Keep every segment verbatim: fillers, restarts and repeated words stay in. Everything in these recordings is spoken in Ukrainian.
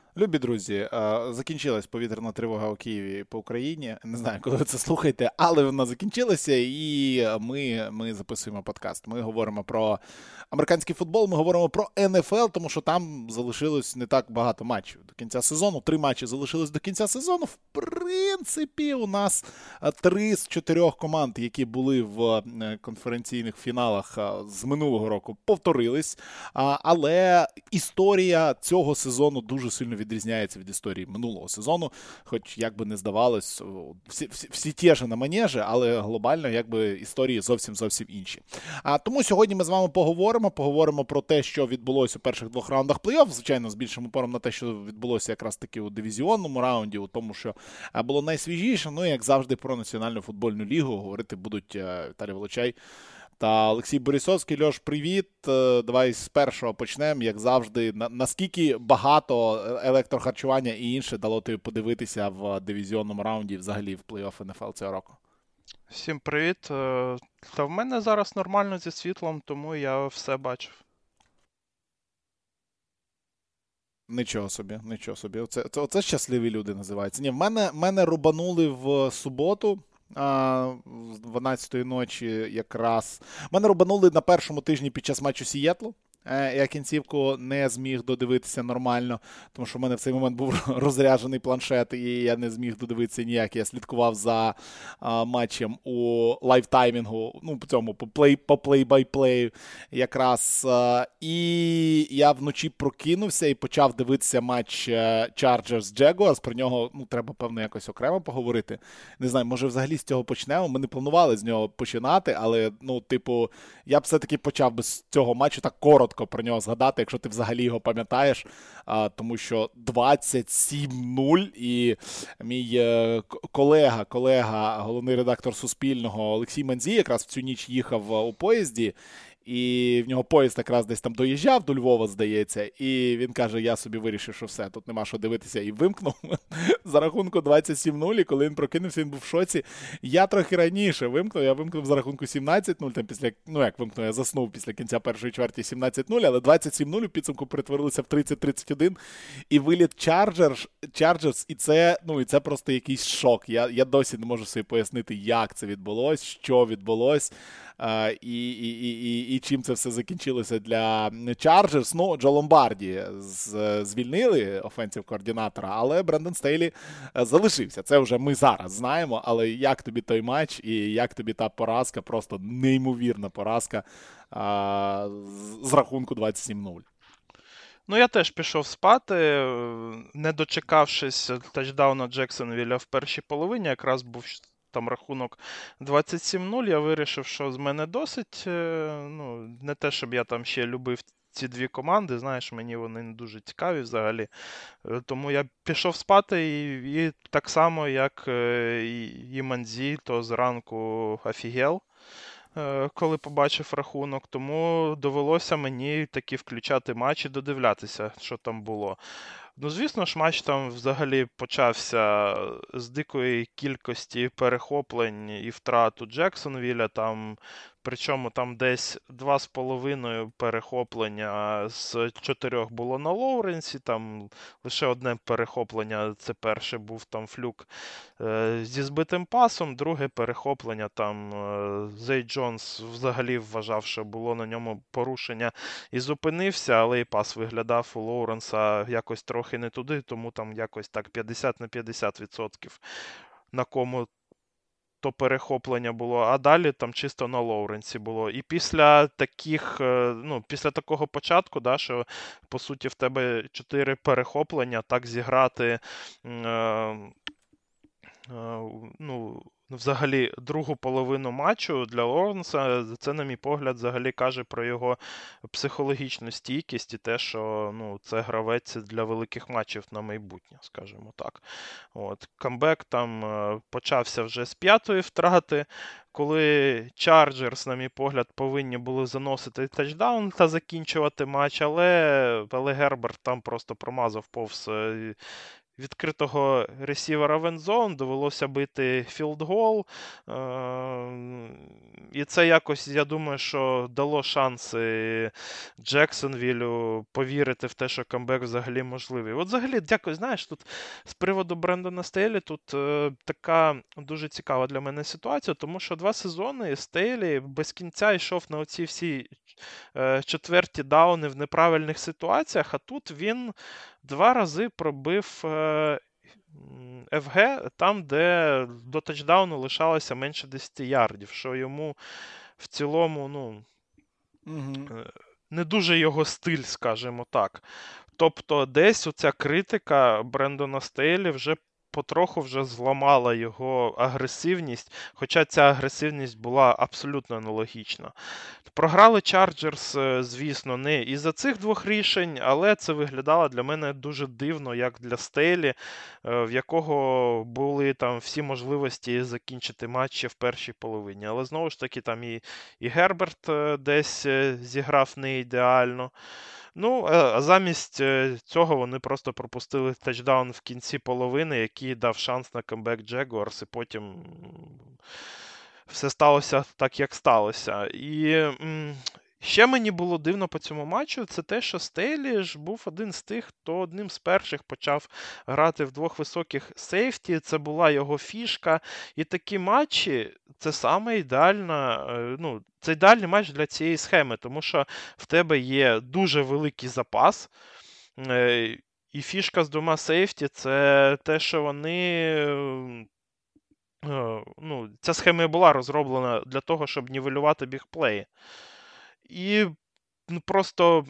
Любі друзі, е, закінчилась повітряна тривога у Києві по Україні. Не знаю, коли ви це слухаєте, але вона закінчилася, і ми, ми записуємо подкаст. Ми говоримо про американський футбол, ми говоримо про Н Ф Л, тому що там залишилось не так багато матчів до кінця сезону. Три матчі залишилось до кінця сезону. В принципі, у нас е, три з чотирьох команд, які були в е, конференційних фіналах е, з минулого року, повторились. А, Але історія цього сезону дуже сильно відрізняється від історії минулого сезону. Хоч, як би не здавалось, всі, всі, всі ті ж на манежі, але глобально якби історії зовсім зовсім інші. А тому сьогодні ми з вами поговоримо. Поговоримо про те, що відбулося у перших двох раундах плей-офф. Звичайно, з більшим упором на те, що відбулося якраз таки у дивізіонному раунді, у тому, що а, було найсвіжіше. Ну і як завжди, про Національну футбольну лігу говорити будуть е, Віталій Волочай та Олексій Борисовський. Льош, привіт. Е, Давай з першого почнемо. Як завжди, на, наскільки багато електрохарчування і інше дало тобі подивитися в дивізіонному раунді і взагалі в плей-офф Н Ф Л цього року? Всім привіт. Е, Та в мене зараз нормально зі світлом, тому я все бачив. Нічого собі, нічого собі. Оце, це, оце щасливі люди називаються. Ні, в мене, мене рубанули в суботу. А, з дванадцятої ночі якраз. Мене рубанули на першому тижні під час матчу Сієтлу. Е, Я кінцівку не зміг додивитися нормально, тому що в мене в цей момент був розряджений планшет, і я не зміг додивитися ніяк. Я слідкував за а, матчем у лайвтаймінгу, ну, по цьому, по плей, по плей-бай-плею якраз. А, і я вночі прокинувся і почав дивитися матч Chargers Jaguars. Про нього, ну, треба, певно, якось окремо поговорити. Не знаю, може взагалі з цього почнемо. Ми не планували з нього починати, але, ну, типу, я б все-таки почав би з цього матчу так коротко про нього згадати, якщо ти взагалі його пам'ятаєш, а, тому що двадцять сім нуль і мій е, колега, колега, головний редактор Суспільного Олексій Манзій якраз в цю ніч їхав у поїзді, і в нього поїзд якраз десь там доїжджав до Львова, здається, і він каже, я собі вирішив, що все, тут нема що дивитися, і вимкнув за рахунку двадцять сім нуль, і коли він прокинувся, він був в шоці. Я трохи раніше вимкнув, я вимкнув за рахунку сімнадцять нуль, там після, ну як вимкнув, я заснув після кінця першої чверті сімнадцять нуль, але двадцять сім нуль у підсумку перетворилося в тридцять тридцять один, і виліт Chargers, Chargers, і це, ну, і це просто якийсь шок. Я, я досі не можу собі пояснити, як це відбулось, що відбулось. Uh, і, і, і, і, і чим це все закінчилося для Chargers. Ну, Джо Ломбарді з, звільнили офенсів-координатора, але Брендон Стейлі залишився. Це вже ми зараз знаємо, але як тобі той матч і як тобі та поразка, просто неймовірна поразка uh, з, з рахунку двадцять сім нуль. Ну, я теж пішов спати, не дочекавшись тачдауна Джексонвілля в першій половині, якраз був там рахунок двадцять сім нуль, я вирішив, що з мене досить. Ну, не те, щоб я там ще любив ці дві команди, знаєш, мені вони не дуже цікаві взагалі. Тому я пішов спати і, і так само, як і, і Манзі, то зранку офігел, коли побачив рахунок, тому довелося мені таки включати матч і додивлятися, що там було. Ну, звісно ж, матч там взагалі почався з дикої кількості перехоплень і втрат у Джексонвілля, там, причому там десь два з половиною перехоплення з чотирьох було на Лоуренсі, там лише одне перехоплення, це перше був там флюк е, зі збитим пасом, друге перехоплення там е, Зей Джонс взагалі вважав, що було на ньому порушення і зупинився, але і пас виглядав у Лоуренса якось трохи не туди, тому там якось так п'ятдесят на п'ятдесят відсотків на кому то перехоплення було, а далі там чисто на Лоуренсі було. І після таких, ну, після такого початку, да, що по суті в тебе чотири перехоплення, так зіграти е, е, ну, взагалі другу половину матчу для Лоуренса, це, на мій погляд, взагалі каже про його психологічну стійкість і те, що, ну, це гравець для великих матчів на майбутнє, скажімо так. От. Камбек там почався вже з п'ятої втрати, коли Chargers, на мій погляд, повинні були заносити тачдаун та закінчувати матч, але, але Герберт там просто промазав повз відкритого ресівера в ендзон, довелося бити філдгол. І це якось, я думаю, що дало шанси Джексонвіллю повірити в те, що камбек взагалі можливий. От взагалі, дякую, знаєш, тут з приводу Брендона Стейлі тут е, така дуже цікава для мене ситуація, тому що два сезони Стейлі без кінця йшов на оці всі е, четверті дауни в неправильних ситуаціях, а тут він два рази пробив е, еф ге там, де до тачдауну лишалося менше десять ярдів, що йому в цілому, ну, Угу. не дуже його стиль, скажімо так. Тобто десь оця критика Брендона Стейлі вже потроху вже зламала його агресивність, хоча ця агресивність була абсолютно аналогічна. Програли Чарджерс, звісно, не із-за цих двох рішень, але це виглядало для мене дуже дивно, як для Стейлі, в якого були там всі можливості закінчити матчі в першій половині. Але знову ж таки, там і, і Герберт десь зіграв не ідеально. Ну, а замість цього вони просто пропустили тачдаун в кінці половини, який дав шанс на камбек Джегуарс, і потім все сталося так, як сталося. І м, ще мені було дивно по цьому матчу, це те, що Стейлі ж був один з тих, хто одним з перших почав грати в двох високих сейфті, це була його фішка. І такі матчі, це саме ідеальна, ну, це ідеальний матч для цієї схеми, тому що в тебе є дуже великий запас, і фішка з двома сейфті – це те, що вони... Ну, ця схема і була розроблена для того, щоб нівелювати бігплеї. І ну, просто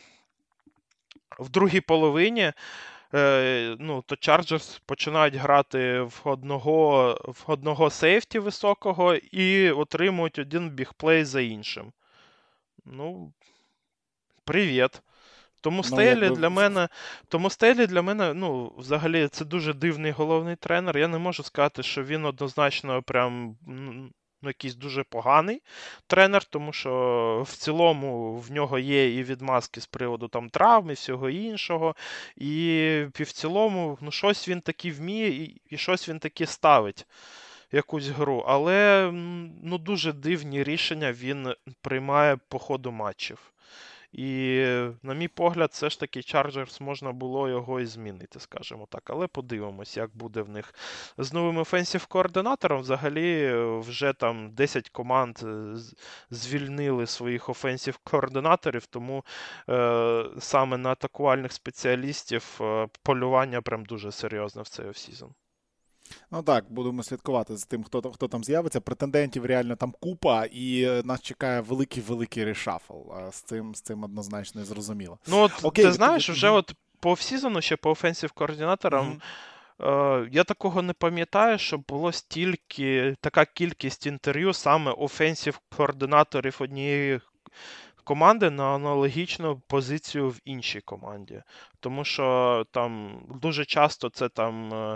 в другій половині е, ну, то Chargers починають грати в одного, в одного сейфті високого і отримують один бігплей за іншим. Ну, привіт. Тому Стейлі Ну, для мене, тому Стейлі для мене, ну, взагалі, це дуже дивний головний тренер. Я не можу сказати, що він однозначно прям, ну, якийсь дуже поганий тренер, тому що в цілому в нього є і відмазки з приводу там травм і всього іншого. І в цілому, ну, щось він таки вміє і, і щось він таки ставить. Якусь гру, але ну, дуже дивні рішення він приймає по ходу матчів. І, на мій погляд, все ж таки Chargers можна було його і змінити, скажімо так. Але подивимось, як буде в них з новим офенсів-координатором. Взагалі, вже там десять команд звільнили своїх офенсів-координаторів, тому е, саме на атакувальних спеціалістів е, полювання прям дуже серйозне в цей офсізон. Ну так, будемо слідкувати за тим, хто, хто там з'явиться. Претендентів реально там купа, і нас чекає великий-великий решафл. З цим, з цим однозначно зрозуміло. Ну от, Окей, ти знаєш, ти... вже от по офсізону, ще по офенсів-координаторам, mm-hmm. е, я такого не пам'ятаю, щоб було стільки, така кількість інтерв'ю саме офенсів-координаторів однієї команди на аналогічну позицію в іншій команді. Тому що там дуже часто це там... Е,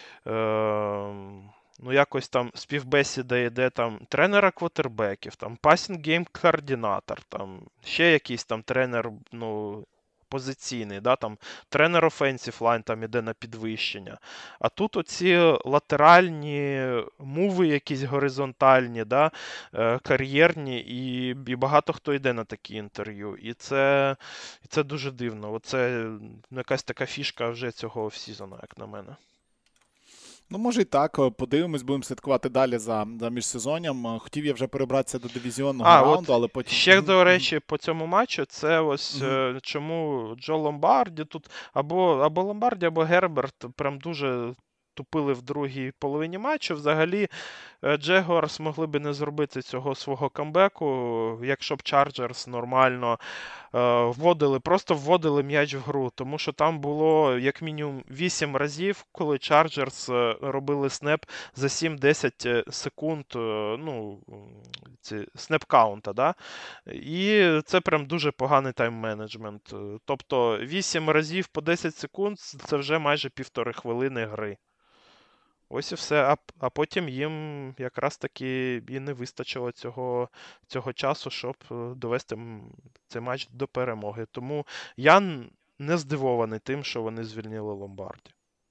е, ну, якось там співбесіда йде там тренера квотербеків, там пасінг-гейм-координатор, там ще якийсь там тренер, ну, позиційний, да, там тренер offensive line там іде на підвищення. А тут оці латеральні муви якісь горизонтальні, да, кар'єрні, і, і багато хто йде на такі інтерв'ю. І це, і це дуже дивно. Оце ну, якась така фішка вже цього офсізону, як на мене. Ну, може і так. Подивимось, будемо слідкувати далі за, за міжсезонням. Хотів я вже перебратися до дивізіонного а, раунду, от але потім... Ще, до речі, по цьому матчу, це ось mm-hmm. чому Джо Ломбарді тут, або, або Ломбарді, або Герберт прям дуже тупили в другій половині матчу. Взагалі, Джегуарс могли би не зробити цього свого камбеку, якщо б Чарджерс нормально е, вводили, просто вводили м'яч в гру. Тому що там було як мінімум вісім разів, коли Чарджерс робили снеп за сім-десять секунд, е, ну, ці снеп-каунта, да? І це прям дуже поганий тайм-менеджмент. Тобто вісім разів по десять секунд – це вже майже півтори хвилини гри. Ось і все, а, а потім їм якраз таки і не вистачило цього, цього часу, щоб довести цей матч до перемоги. Тому я не здивований тим, що вони звільнили Ломбарді.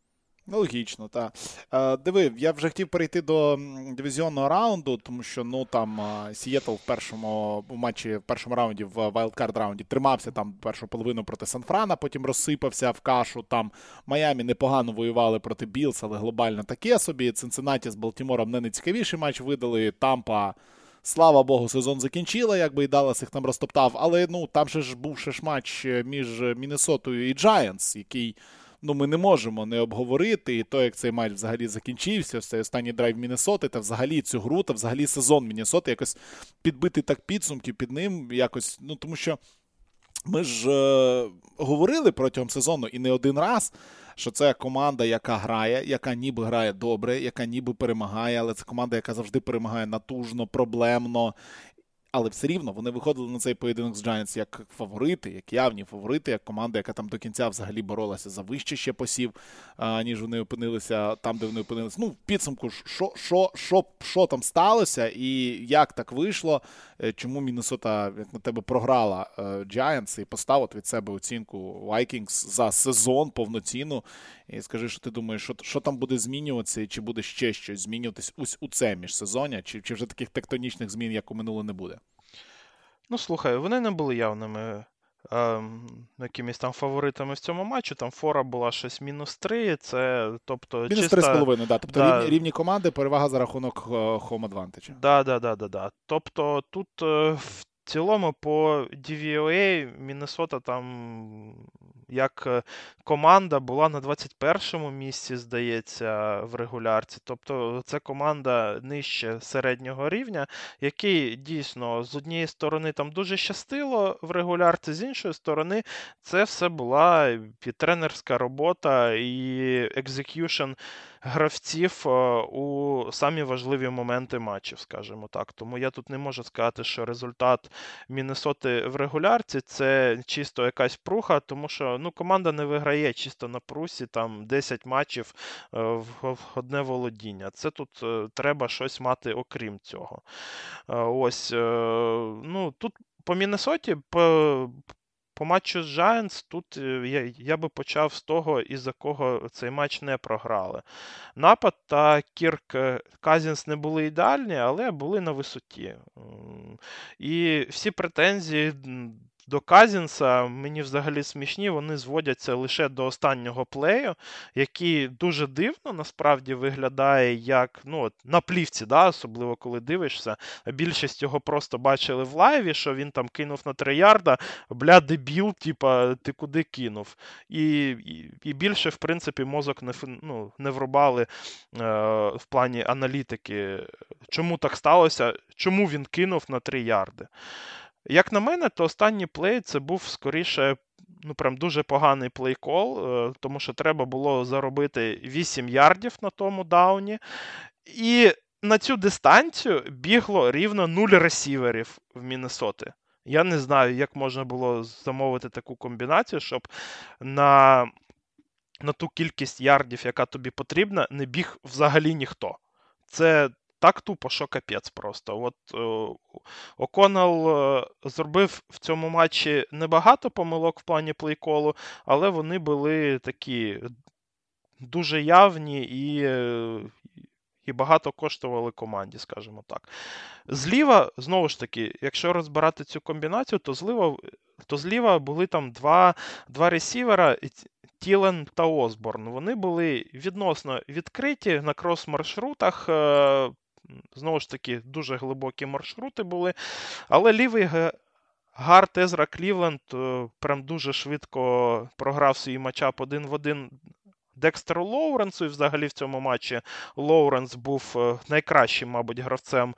Ну, логічно, так. Е, диви, я вже хотів перейти до дивізіонного раунду, тому що, ну, там, Сієтл в першому в матчі, в першому раунді, в вайлдкард раунді тримався там першу половину проти Сан-Франа, потім розсипався в кашу, там Майамі непогано воювали проти Білс, але глобально таке собі. Цинциннаті з Балтімором не найцікавіший матч видали, Тампа, слава Богу, сезон закінчила, якби і Даллас їх там розтоптав, але, ну, там же ж був ще ж матч між Міннесотою і Giants, який, ну, ми не можемо не обговорити, і то, як цей матч взагалі закінчився, ось цей останній драйв Міннесоти, та взагалі цю гру, та взагалі сезон Міннесоти, якось підбити так підсумки під ним, якось, ну, тому що ми ж е, говорили протягом сезону і не один раз, що це команда, яка грає, яка ніби грає добре, яка ніби перемагає, але це команда, яка завжди перемагає натужно, проблемно. Але все рівно вони виходили на цей поєдинок з Giants як фаворити, як явні фаворити, як команда, яка там до кінця взагалі боролася за вище ще посів, а, ніж вони опинилися там, де вони опинилися. Ну, в підсумку, що, що, що, що там сталося і як так вийшло, чому Міннесота, як на тебе, програла е, Giants і поставив від себе оцінку Vikings за сезон повноцінну. І скажи, що ти думаєш, що, що там буде змінюватися, і чи буде ще щось змінюватись ось у це міжсезоння, чи, чи вже таких тектонічних змін, як у минуле, не буде? Ну, слухай, вони не були явними е, якимись там фаворитами в цьому матчі. Там фора була щось мінус три, це, тобто, мінус чисто... три з половиною, да. Тобто да. рівні, рівні команди, перевага за рахунок home advantage. Да, да, да, да, да. Тобто тут е, в цілому по ді ві о ей Міннесота там як команда була на двадцять першому місці, здається, в регулярці. Тобто це команда нижче середнього рівня, який дійсно з однієї сторони там дуже щастило в регулярці, з іншої сторони це все була і тренерська робота, і екзекюшн гравців у самі важливі моменти матчів, скажімо так. Тому я тут не можу сказати, що результат Міннесоти в регулярці це чисто якась пруха, тому що ну, команда не виграє чисто на прусі там десять матчів в одне володіння. Це тут треба щось мати окрім цього. Ось, ну, тут по Міннесоті, по По матчу з Giants тут я, я би почав з того, із-за кого цей матч не програли. Напад та Кірк Казінс не були ідеальні, але були на висоті. І всі претензії до Казінса, мені взагалі смішні, вони зводяться лише до останнього плею, який дуже дивно насправді виглядає як, ну, от, на плівці, да, особливо коли дивишся. Більшість його просто бачили в лайві, що він там кинув на три ярда, бля, дебіл, типа, ти куди кинув? І, і, і більше, в принципі, мозок не, ну, не врубали е, в плані аналітики, чому так сталося, чому він кинув на три ярди. Як на мене, то останній плей це був скоріше, ну прям дуже поганий плей-кол, тому що треба було заробити вісім ярдів на тому дауні. І на цю дистанцію бігло рівно нуль ресіверів в Міннесоти. Я не знаю, як можна було замовити таку комбінацію, щоб на, на ту кількість ярдів, яка тобі потрібна, не біг взагалі ніхто. Це так тупо, що капець просто. От о, О'Коннелл е, зробив в цьому матчі небагато помилок в плані плейколу, але вони були такі дуже явні і, е, і багато коштували команді, скажімо так. Зліва, знову ж таки, якщо розбирати цю комбінацію, то зліва, то зліва були там два, два ресівера, Тілен та Осборн. Вони були відносно відкриті на крос-маршрутах. Е, Знову ж таки, дуже глибокі маршрути були. Але лівий гард Езра Клівленд прям дуже швидко програв свій матчап один в один Декстеру Лоуренсу. І взагалі в цьому матчі Лоуренс був найкращим, мабуть, гравцем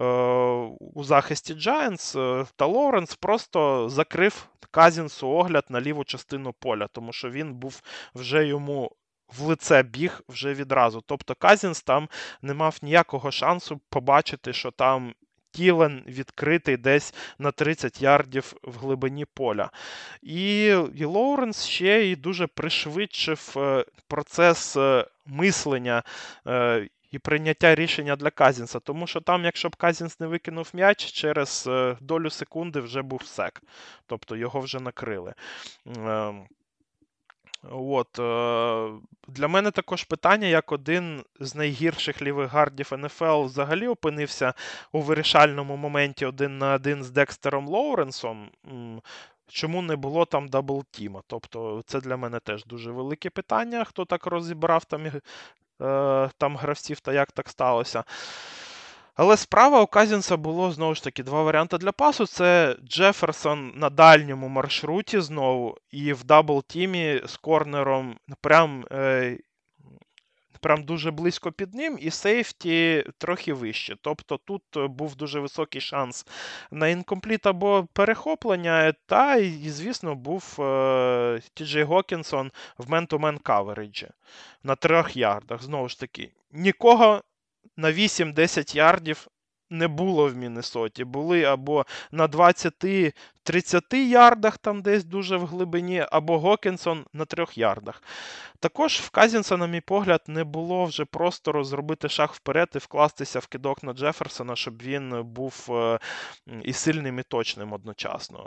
у захисті Giants. Та Лоуренс просто закрив Казінсу огляд на ліву частину поля, тому що він був вже йому в лице біг вже відразу. Тобто Казінс там не мав ніякого шансу побачити, що там Тілен відкритий десь на тридцять ярдів в глибині поля. І, і Лоуренс ще й дуже пришвидшив процес мислення і прийняття рішення для Казінса. Тому що там, якщо б Казінс не викинув м'яч, через долю секунди вже був сек. Тобто його вже накрили. От, е, для мене також питання, як один з найгірших лівих гардів ен еф ел взагалі опинився у вирішальному моменті один на один з Декстером Лоуренсом. Чому не було там даблтіма? Тобто це для мене теж дуже велике питання, хто так розібрав там, е, там гравців та як так сталося. Але справа у Казінса було, знову ж таки, два варіанти для пасу. Це Джеферсон на дальньому маршруті знову, і в дабл-тімі з корнером прям, е, прям дуже близько під ним, і сейфті трохи вище. Тобто тут був дуже високий шанс на інкомпліт або перехоплення, та, і, звісно, був е, Ті Джей Гокінсон в мен-ту-мен кавериджі на трьох ярдах. Знову ж таки, нікого на вісім-десять ярдів не було в Міннесоті. Були або на двадцять-тридцять ярдах, там десь дуже в глибині, або Гокінсон на трьох ярдах. Також в Казінса, на мій погляд, не було вже простору зробити шаг вперед і вкластися в кидок на Джеферсона, щоб він був і сильним, і точним одночасно.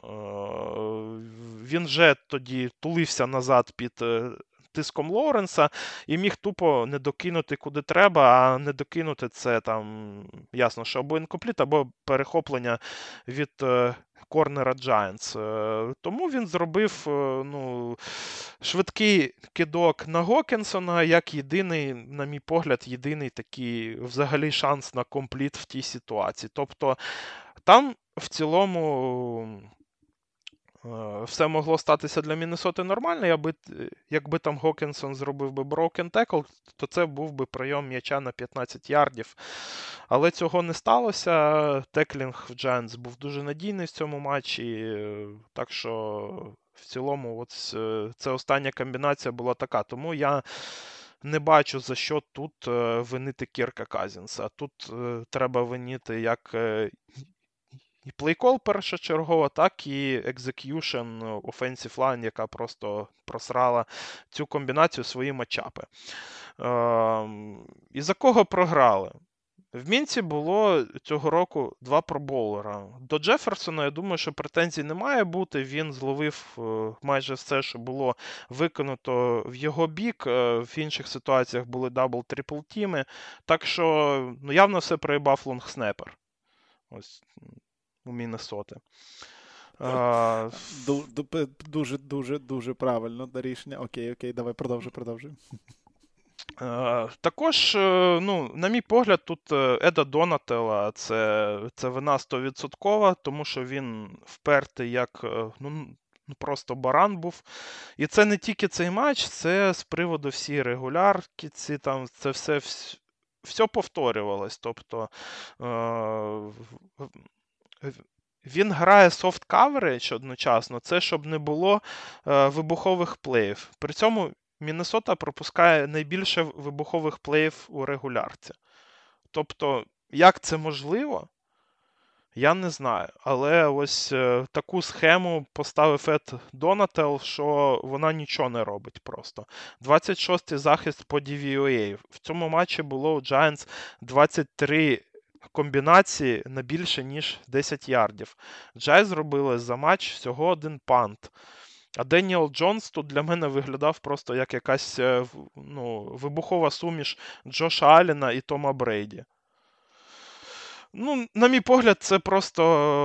Він вже тоді тулився назад під тиском Лоуренса і міг тупо не докинути куди треба, а не докинути це там, ясно, що або інкомпліт, або перехоплення від е, корнера Giants. Е, тому він зробив е, ну, швидкий кидок на Гокінсона, як єдиний, на мій погляд, єдиний такий взагалі шанс на компліт в тій ситуації. Тобто там в цілому все могло статися для Міннесоти нормально, якби, якби там Гокінсон зробив би broken tackle, то це був би прийом м'яча на п'ятнадцять ярдів. Але цього не сталося. Теклінг в Giants був дуже надійний в цьому матчі, так що в цілому от це остання комбінація була така. Тому я не бачу, за що тут винити Кірка Казінса. Тут треба винити як і плейкол першочергово, так і екзек'юшн offensive line, яка просто просрала цю комбінацію свої матчапи. Ем, і за кого програли? В Мінці було цього року два пробоулера. До Джеферсона, я думаю, що претензій не має бути. Він зловив майже все, що було виконано в його бік. В інших ситуаціях були дабл-трипл тіми. Так що, ну, явно все проїбав лонгснепер. Ось у Міннесоти. А... Дуже, дуже, дуже правильно рішення. Окей, окей, давай продовжуй, продовжуй. А, також, ну, на мій погляд, тут Еда Донателла це, це вина сто відсотків, тому що він впертий як, ну, просто баран був. І це не тільки цей матч, це з приводу всієї регулярки, ці, там, це все, все повторювалось. Тобто він грає soft coverage одночасно, це щоб не було е, вибухових плеїв. При цьому Міннесота пропускає найбільше вибухових плеїв у регулярці. Тобто, як це можливо, я не знаю. Але ось е, таку схему поставив Ед Донателл, що вона нічого не робить просто. двадцять шостий захист по ді ві о ей. В цьому матчі було у Giants двадцять три комбінації на більше, ніж десять ярдів. Джай зробили за матч всього один пант. А Деніел Джонс тут для мене виглядав просто як якась ну, вибухова суміш Джоша Аллена і Тома Брейді. Ну, на мій погляд, це просто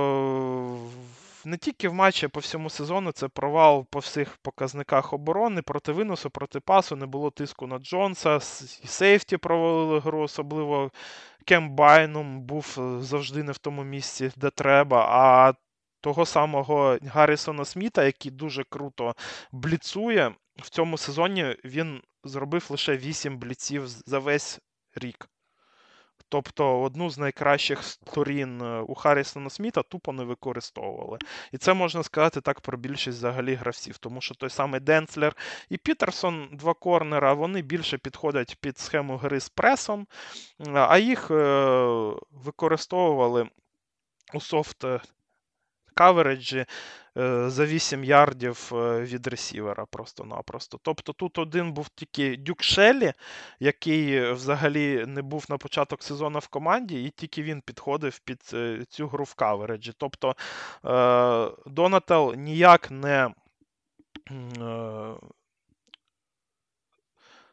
не тільки в матчі, а по всьому сезону це провал по всіх показниках оборони, проти виносу, проти пасу, не було тиску на Джонса, і сейфті провалили гру, особливо Кем Байнум був завжди не в тому місці, де треба, а того самого Гаррісона Сміта, який дуже круто бліцує, в цьому сезоні він зробив лише вісім бліців за весь рік. Тобто одну з найкращих сторін у Харрісона Сміта тупо не використовували. І це можна сказати так про більшість взагалі гравців, тому що той самий Денцлер і Пітерсон, два корнера, вони більше підходять під схему гри з пресом, а їх використовували у софт кавереджі за вісім ярдів від ресівера просто-напросто. Тобто тут один був тільки Дюк Шеллі, який взагалі не був на початок сезону в команді, і тільки він підходив під цю гру в кавереджі. Тобто Донателл ніяк не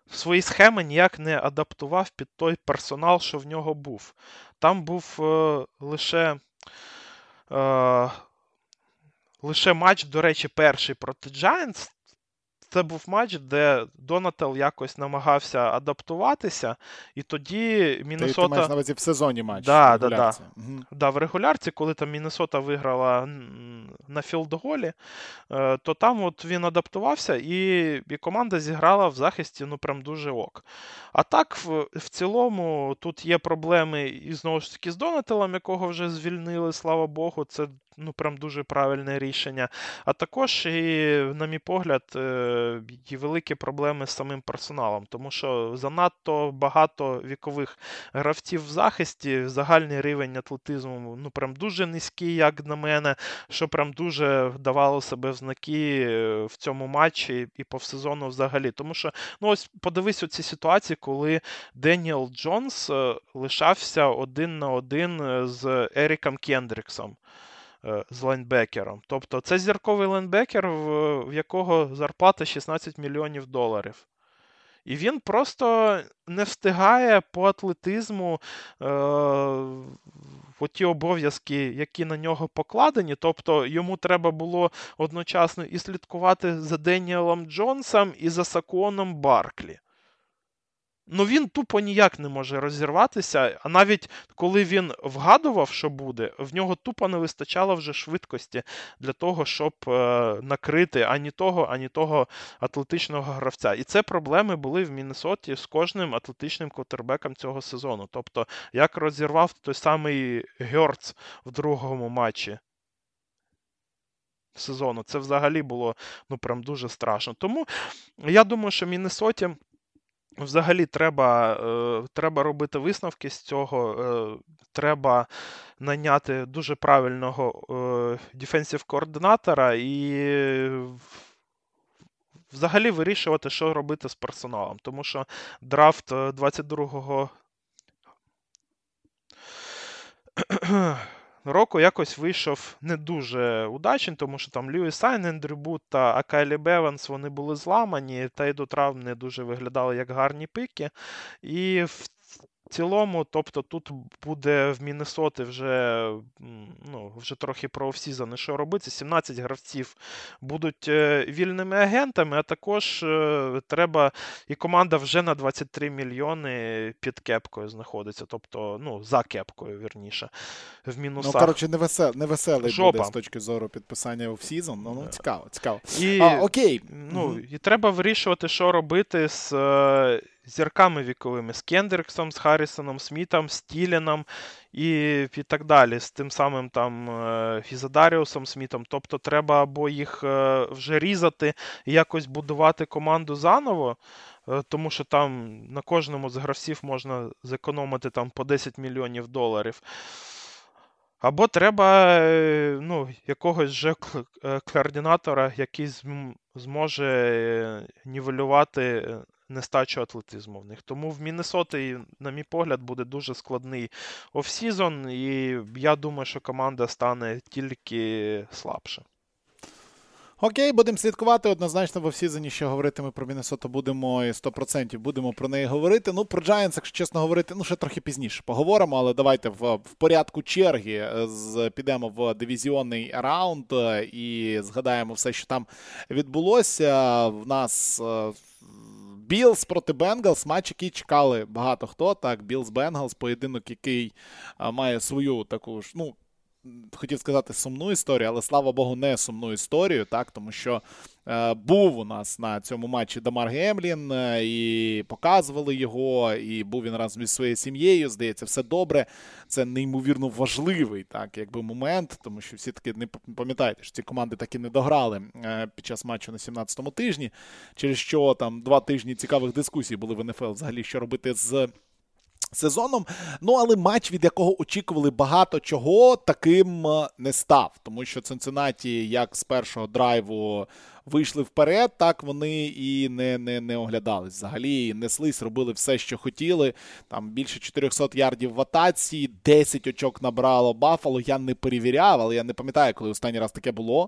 свої схеми ніяк не адаптував під той персонал, що в нього був. Там був е, лише е, лише матч, до речі, перший проти Giants. Це був матч, де Донателл якось намагався адаптуватися, і тоді Міннесота... Ти, ти маєш на увазі в сезоні матч? Да, да, да. Угу. Да, в регулярці, коли там Міннесота виграла на філд-голі, то там от він адаптувався, і, і команда зіграла в захисті, ну, прям дуже ок. А так, в, в цілому, тут є проблеми, і знову ж таки, з Донателлом, якого вже звільнили, слава Богу, це, ну, прям дуже правильне рішення. А також, і, на мій погляд, є великі проблеми з самим персоналом, тому що занадто багато вікових гравців в захисті, загальний рівень атлетизму, ну, прям дуже низький, як на мене, що прям дуже давало себе в знаки в цьому матчі і по сезону взагалі. Тому що, ну, ось подивись оці ситуації, коли Деніел Джонс лишався один на один з Еріком Кендріксом, з лайнбекером. Тобто це зірковий лайнбекер, в, в якого зарплата шістнадцять мільйонів доларів. І він просто не встигає по атлетизму е, в ті обов'язки, які на нього покладені. Тобто йому треба було одночасно і слідкувати за Деніелом Джонсом, і за Саконом Барклі. Ну, він тупо ніяк не може розірватися, а навіть коли він вгадував, що буде, в нього тупо не вистачало вже швидкості для того, щоб е, накрити ані того, ані того атлетичного гравця. І це проблеми були в Міннесоті з кожним атлетичним квотербеком цього сезону. Тобто, як розірвав той самий Гьорц в другому матчі сезону, це взагалі було, ну, прям дуже страшно. Тому я думаю, що Міннесоті взагалі треба, е, треба робити висновки з цього, е, треба найняти дуже правильного е, дефенсив-координатора і взагалі вирішувати, що робити з персоналом. Тому що драфт двадцять другого року якось вийшов не дуже удачний, тому що там Льюіс Сайн, Ендрю Бут та Акайлі Беванс, вони були зламані, та й до травм не дуже виглядали як гарні пики. І в цілому, тобто тут буде в Міннесоти вже, ну, вже трохи про офсізон, що робити. сімнадцять гравців будуть вільними агентами, а також треба, і команда вже на двадцять три мільйони під кепкою знаходиться, тобто, ну, за кепкою, вірніше, в мінусах. Ну, коротше, невесел, невеселий Жопа. буде з точки зору підписання офсізон. Ну, ну, цікаво, цікаво. І, а, окей. Ну, угу. І треба вирішувати, що робити з е, зірками віковими, з Кендріксом, з Харрісоном Смітом, з Тіліном і, і так далі, з тим самим там е, Фізадаріусом Смітом. Тобто треба або їх е, вже різати і якось будувати команду заново, е, тому що там на кожному з гравців можна зекономити там по десять мільйонів доларів. Або треба, ну, якогось же координатора, який зможе нівелювати нестачу атлетизму в них. Тому в Міннесоті, на мій погляд, буде дуже складний офсізон, і я думаю, що команда стане тільки слабше. Окей, будемо слідкувати. Однозначно в офсізоні, що говорити ми про Міннесоту будемо, і сто відсотків будемо про неї говорити. Ну, про Giants, якщо чесно говорити, ну, ще трохи пізніше поговоримо, але давайте в, в порядку черги з, підемо в дивізіонний раунд і згадаємо все, що там відбулося. В нас Білз проти Бенгалс, матч, який чекали багато хто. Так, Білз-Бенгалс, поєдинок, який а, має свою таку ж, ну, хотів сказати сумну історію, але, слава Богу, не сумну історію, так, тому що е, був у нас на цьому матчі Дамар Гемлін, е, і показували його, і був він разом із своєю сім'єю, здається, все добре. Це неймовірно важливий, так, якби момент, тому що всі таки, не пам'ятаєте, що ці команди таки не дограли е, під час матчу на сімнадцятому тижні, через що там два тижні цікавих дискусій були в ен еф ел взагалі, що робити з сезоном, ну, але матч, від якого очікували багато чого, таким не став. Тому що Цинциннаті, як з першого драйву вийшли вперед, так вони і не, не, не оглядались. Взагалі неслись, робили все, що хотіли. Там більше чотириста ярдів в атаці, десять очок набрало Баффало. Я не перевіряв, але я не пам'ятаю, коли останній раз таке було.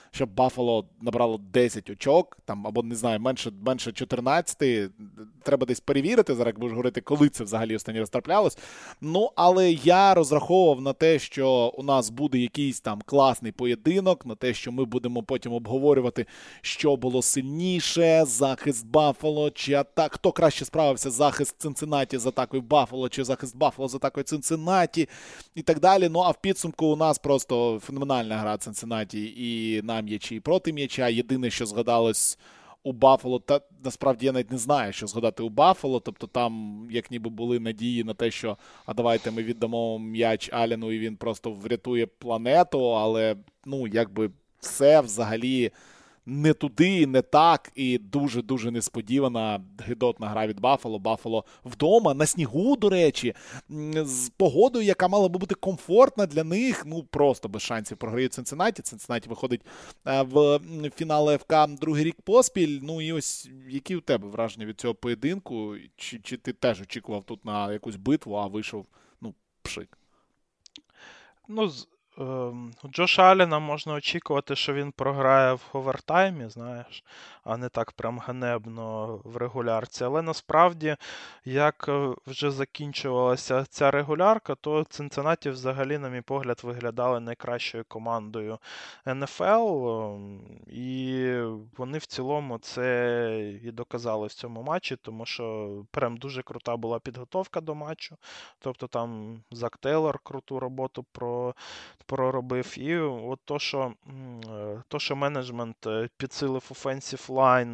щоб Баффало набрало десять очок, там, або, не знаю, менше, менше чотирнадцять. Треба десь перевірити, зараз будеш говорити, коли це взагалі останній раз траплялось. Ну, але я розраховував на те, що у нас буде якийсь там класний поєдинок, на те, що ми будемо потім обговорювати, що було сильніше, захист Баффало, чи атак, хто краще справився, захист Цинциннаті з атакою Баффало, чи захист Баффало з атакою Цинциннаті, і так далі. Ну, а в підсумку у нас просто феноменальна гра Цинциннаті і на м'ячі, і проти м'яча. Єдине, що згадалось у Баффало, та насправді я навіть не знаю, що згадати у Баффало, тобто там як ніби були надії на те, що а давайте ми віддамо м'яч Аллену і він просто врятує планету, але, ну, якби все взагалі не туди, не так, і дуже-дуже несподівана гидотна гра від Баффало. Баффало вдома, на снігу, до речі, з погодою, яка мала би бути комфортна для них, ну, просто без шансів програють Цинциннаті. Цинциннаті виходить в фінал АФК другий рік поспіль. Ну, і ось, які у тебе враження від цього поєдинку? Чи, чи ти теж очікував тут на якусь битву, а вийшов, ну, пшик? Ну, з У Джоша Аллена можна очікувати, що він програє в овертаймі, знаєш, а не так прям ганебно в регулярці. Але насправді, як вже закінчувалася ця регулярка, то Цинциннаті взагалі, на мій погляд, виглядали найкращою командою ен еф ел. І вони в цілому це і доказали в цьому матчі, тому що прям дуже крута була підготовка до матчу. Тобто там Зак Тейлор круту роботу про проробив. І от то, що, то, що менеджмент підсилив offensive line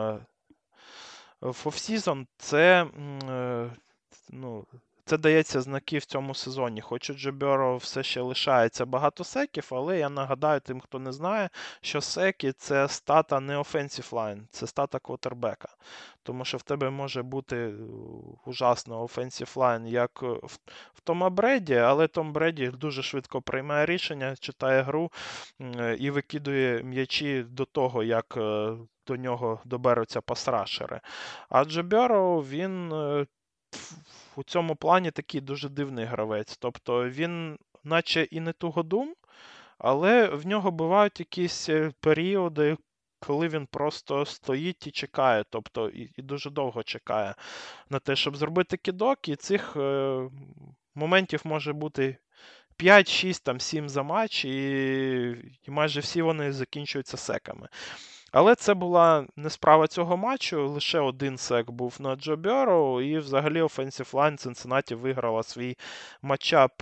в офсізон, це, ну, це дається знаки в цьому сезоні. Хоч у Джо Бюро все ще лишається багато секів, але я нагадаю тим, хто не знає, що секи – це стата не offensive line, це стата квотербека. Тому що в тебе може бути ужасно offensive line, як в, в Тома Бреді, але Том Бреді дуже швидко приймає рішення, читає гру і викидує м'ячі до того, як до нього доберуться пасрашери. А Джо Бюро, він у цьому плані такий дуже дивний гравець. Тобто він наче і не тугодум, але в нього бувають якісь періоди, коли він просто стоїть і чекає, тобто і, і дуже довго чекає на те, щоб зробити кидок, і цих е, моментів може бути п'ять, шість, там, сім за матч, і, і майже всі вони закінчуються секами. Але це була не справа цього матчу, лише один сек був на Джо Бюро, і взагалі offensive line Цинциннаті виграла свій матчап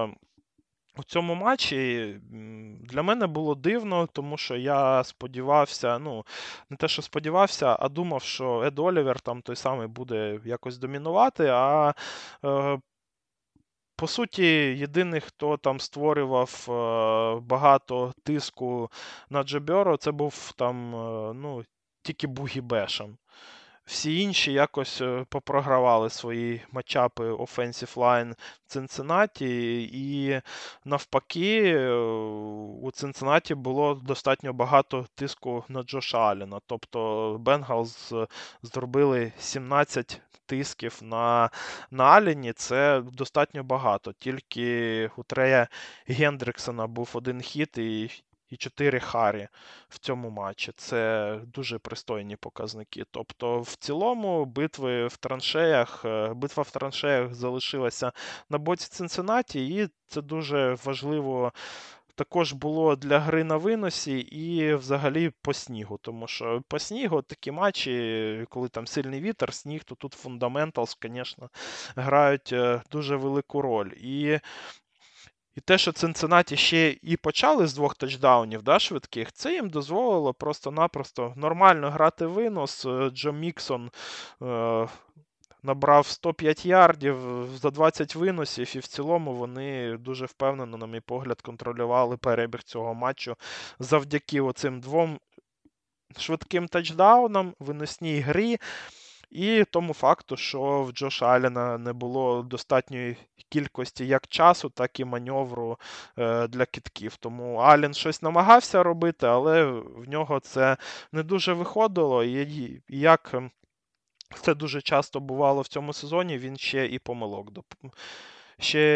у цьому матчі. Для мене було дивно, тому що я сподівався, ну, не те, що сподівався, а думав, що Ед Олівер там той самий буде якось домінувати, а е, по суті, єдиний, хто там створював е, багато тиску на Джо Бюро, це був там, е, ну, тільки Бугі Бешем. Всі інші якось попрогравали свої матчапи offensive line Цинциннаті, і навпаки у Цинциннаті було достатньо багато тиску на Джоша Аллена. Тобто Бенгалз зробили сімнадцять тисків на, на Аллені, це достатньо багато. Тільки у Трея Гендріксона був один хіт і і чотири харі в цьому матчі. Це дуже пристойні показники. Тобто, в цілому, битви в траншеях, битва в траншеях залишилася на боці Цинциннаті, і це дуже важливо також було для гри на виносі і взагалі по снігу. Тому що по снігу такі матчі, коли там сильний вітер, сніг, то тут фундаменталс, звісно, грають дуже велику роль. І І те, що Цинциннаті ще і почали з двох тачдаунів, да, швидких, це їм дозволило просто-напросто нормально грати винос. Джо Міксон е, набрав сто п'ять ярдів за двадцять виносів, і в цілому вони дуже впевнено, на мій погляд, контролювали перебіг цього матчу завдяки оцим двом швидким тачдаунам, виносній грі. І тому факту, що в Джоша Аллена не було достатньої кількості як часу, так і маневру е, для кидків. Тому Аллен щось намагався робити, але в нього це не дуже виходило. І, і як це дуже часто бувало в цьому сезоні, він ще і помилок, ще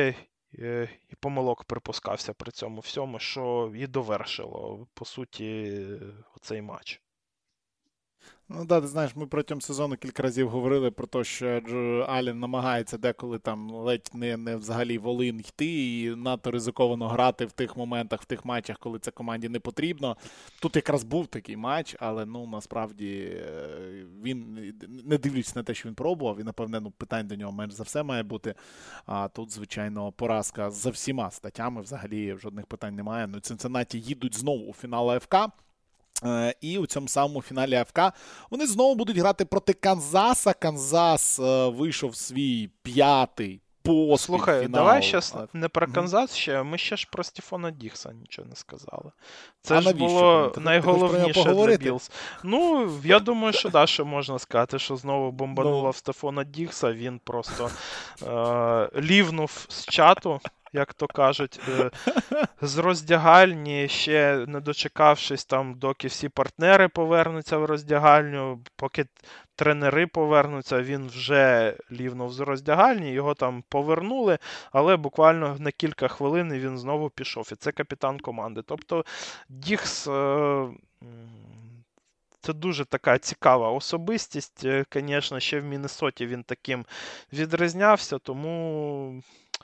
і помилок припускався при цьому всьому, що і довершило, по суті, оцей матч. Ну да, ти знаєш, ми протягом сезону кілька разів говорили про те, що Джо Аллен намагається деколи там ледь не, не взагалі волин йти і надто ризиковано грати в тих моментах, в тих матчах, коли це команді не потрібно. Тут якраз був такий матч, але ну насправді він, не дивлячись на те, що він пробував, і напевне ну, питань до нього менш за все має бути. А тут, звичайно, поразка за всіма статтями, взагалі жодних питань немає. Ну, Цинциннаті їдуть знову у фінал АФК. І у цьому самому фіналі АФК вони знову будуть грати проти Канзаса. Канзас вийшов свій п'ятий поспіль Слухай, фінал. давай зараз не про Канзас ще, ми ще ж про Стефана Дігса нічого не сказали. Це а ж було ти, найголовніше ти для Білс. Ну, я думаю, що да, що можна сказати, що знову бомбануло ну. в Стефана Дігса, він просто е- лівнув з чату, як то кажуть, з роздягальні, ще не дочекавшись там, доки всі партнери повернуться в роздягальню, поки тренери повернуться, він вже лівнув з роздягальні, його там повернули, але буквально на кілька хвилин він знову пішов. І це капітан команди. Тобто Дігс... Це дуже така цікава особистість. Звісно, ще в Міннесоті він таким відрізнявся, тому...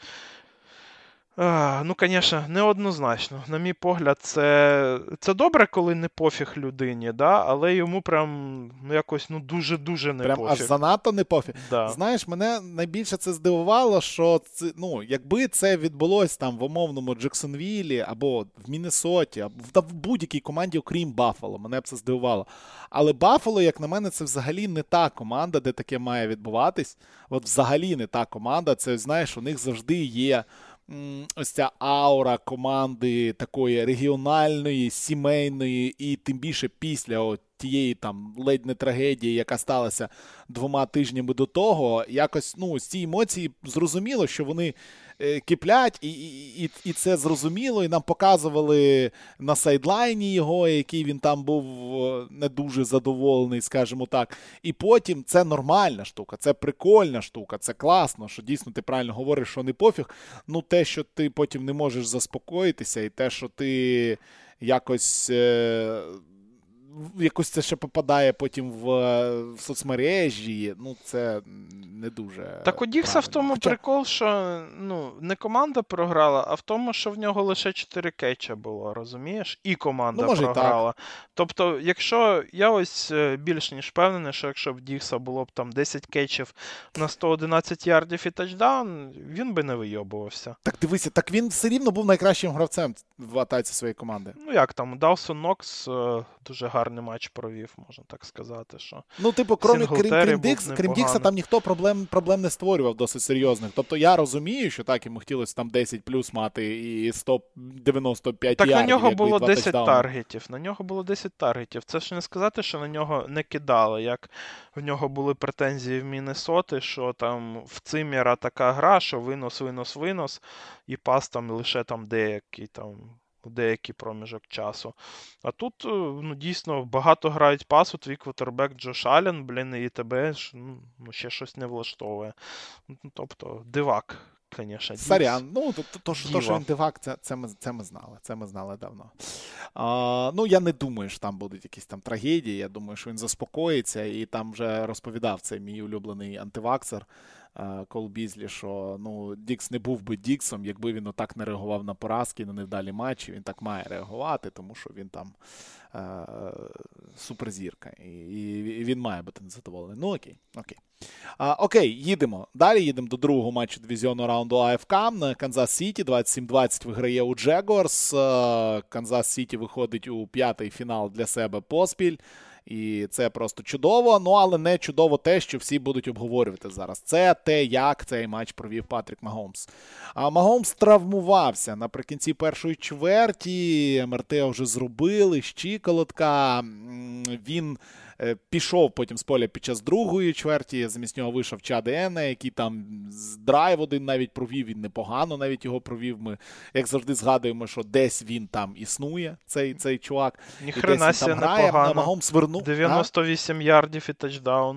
А, ну, звісно, неоднозначно. На мій погляд, це, це добре, коли не пофіг людині, да? Але йому прям ну, якось ну, дуже-дуже не прям пофіг. Прям аж занадто не пофіг. Да. Знаєш, мене найбільше це здивувало, що це, ну, якби це відбулося там в умовному Джексонвілі або в Міннесоті, або в, в будь-якій команді, окрім Баффало, мене б це здивувало. Але Баффало, як на мене, це взагалі не та команда, де таке має відбуватись. От взагалі не та команда. Це, знаєш, у них завжди є ось ця аура команди такої регіональної, сімейної, і тим більше після от тієї там ледь не трагедії, яка сталася двома тижнями до того, якось, ну, з ці емоції зрозуміло, що вони е, киплять, і, і, і це зрозуміло, і нам показували на сайдлайні його, який він там був не дуже задоволений, скажімо так. І потім це нормальна штука, це прикольна штука, це класно, що дійсно ти правильно говориш, що не пофіг. Ну, те, що ти потім не можеш заспокоїтися, і те, що ти якось... Е, якось це ще попадає потім в, в соцмережі, ну це не дуже. Так у Дікса в тому Хоча... прикол, що ну, не команда програла, а в тому, що в нього лише чотири кетча було, розумієш? І команда ну, може, програла. Так. Тобто, якщо я ось більш ніж впевнений, що якщо б Дікса було б там десять кетчів на сто одинадцять ярдів і тачдаун, він би не вийобувався. Так дивися, так він все рівно був найкращим гравцем в атаці своєї команди. Ну як там, Даусон Нокс дуже гарний матч провів, можна так сказати. Що ну, типу, крім, крім, крім, Дікс, крім Дікса, там ніхто проблем, проблем не створював досить серйозних. Тобто я розумію, що так, йому хотілося там десять плюс мати і сто дев'яносто п'ять так ярдів. Так на нього було десять тачдауни. таргетів. На нього було десять таргетів. Це ж не сказати, що на нього не кидали, як в нього були претензії в Міннесоти, що там в Циммера така гра, що винос, винос, винос, і пас там лише там деякий там в деякий проміжок часу. А тут, ну, дійсно, багато грають пасу, твій квотербек Джош Аллен, блін, і тебе ну, ще щось не влаштовує. Тобто, дивак, звісно. Сорян, ну, то, то, то, що він дивак, це, це, ми, це ми знали, це ми знали давно. А, ну, я не думаю, що там будуть якісь там трагедії, я думаю, що він заспокоїться, і там вже розповідав цей мій улюблений антиваксер, Кол Бізлі, що ну, Дікс не був би Діксом, якби він отак не реагував на поразки, на невдалі матчі. Він так має реагувати, тому що він там е- суперзірка. І, і він має бути незадоволений. Ну окей, окей. А, окей, їдемо. Далі їдемо до другого матчу дивізіонного раунду АФК. Канзас Сіті двадцять сім двадцять виграє у Джегорс. Канзас Сіті виходить у п'ятий фінал для себе поспіль. І це просто чудово, ну але не чудово те, що всі будуть обговорювати зараз. Це те, як цей матч провів Патрік Магомс. А Магомс травмувався наприкінці першої чверті, ем ер те вже зробили, щиколотка, він пішов потім з поля під час другої чверті, замість нього вийшов Чад Ене, який там з драйв один навіть провів, він непогано навіть його провів. Ми, як завжди, згадуємо, що десь він там існує, цей, цей чувак. Ніхрена сі непогано. Магомс вернув. дев'яносто вісім а? ярдів і тачдаун.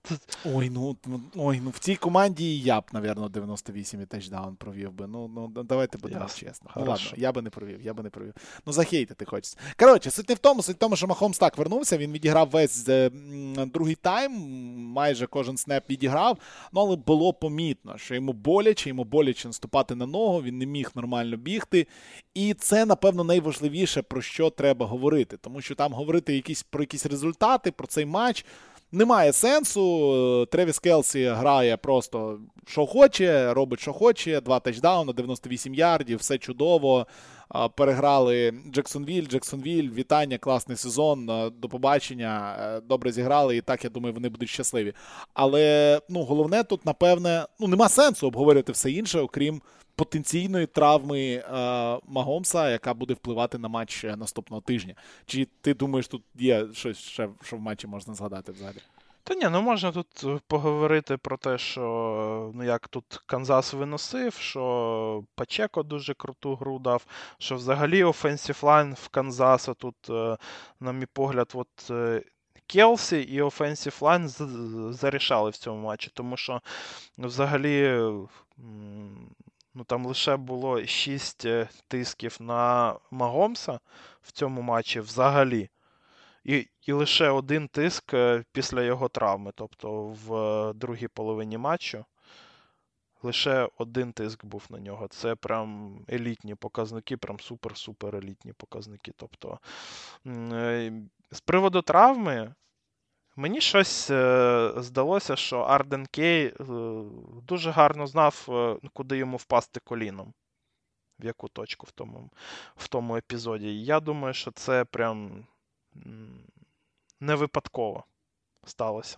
Ой, ну, ой, ну в цій команді я б, напевно, дев'яносто вісім і тачдаун провів би. Ну, ну давайте будемо Ясно. чесно. Хорошо. Ну ладно, я би не провів, я би не провів. Ну захейтити хочеться. Коротше, суть не в тому, суть в тому, що Махомс так вернувся, він відіграв весь е, м, другий тайм, майже кожен снеп відіграв, ну але було помітно, що йому боляче, йому боляче наступати на ногу, він не міг нормально бігти. І це, напевно, найважливіше, про що треба говорити. Тому що там говорити якісь, про якісь результати, про цей матч немає сенсу. Тревіс Келсі грає просто що хоче, робить що хоче, два тачдауни, дев'яносто вісім ярдів, все чудово. Переграли Джексонвіль, Джексонвіль, вітання, класний сезон, до побачення, добре зіграли, і так, я думаю, вони будуть щасливі. Але, ну, головне тут, напевне, ну, нема сенсу обговорювати все інше, окрім потенційної травми е, Магомса, яка буде впливати на матч наступного тижня. Чи ти думаєш, тут є щось ще, що в матчі можна згадати взагалі? Та ні, ну можна тут поговорити про те, що ну як тут Канзас виносив, що Пачеко дуже круту гру дав, що взагалі офенсив лайн в Канзаса тут, на мій погляд, от Келсі і офенсив лайн зарішали в цьому матчі, тому що взагалі ну там лише було шість тисків на Магомса в цьому матчі взагалі. І, і лише один тиск після його травми, тобто в другій половині матчу. Лише один тиск був на нього. Це прям елітні показники, прям супер-супер елітні показники. Тобто, з приводу травми, мені щось здалося, що Арден Кей дуже гарно знав, куди йому впасти коліном. В яку точку в тому, в тому епізоді. Я думаю, що це прям не випадково сталося.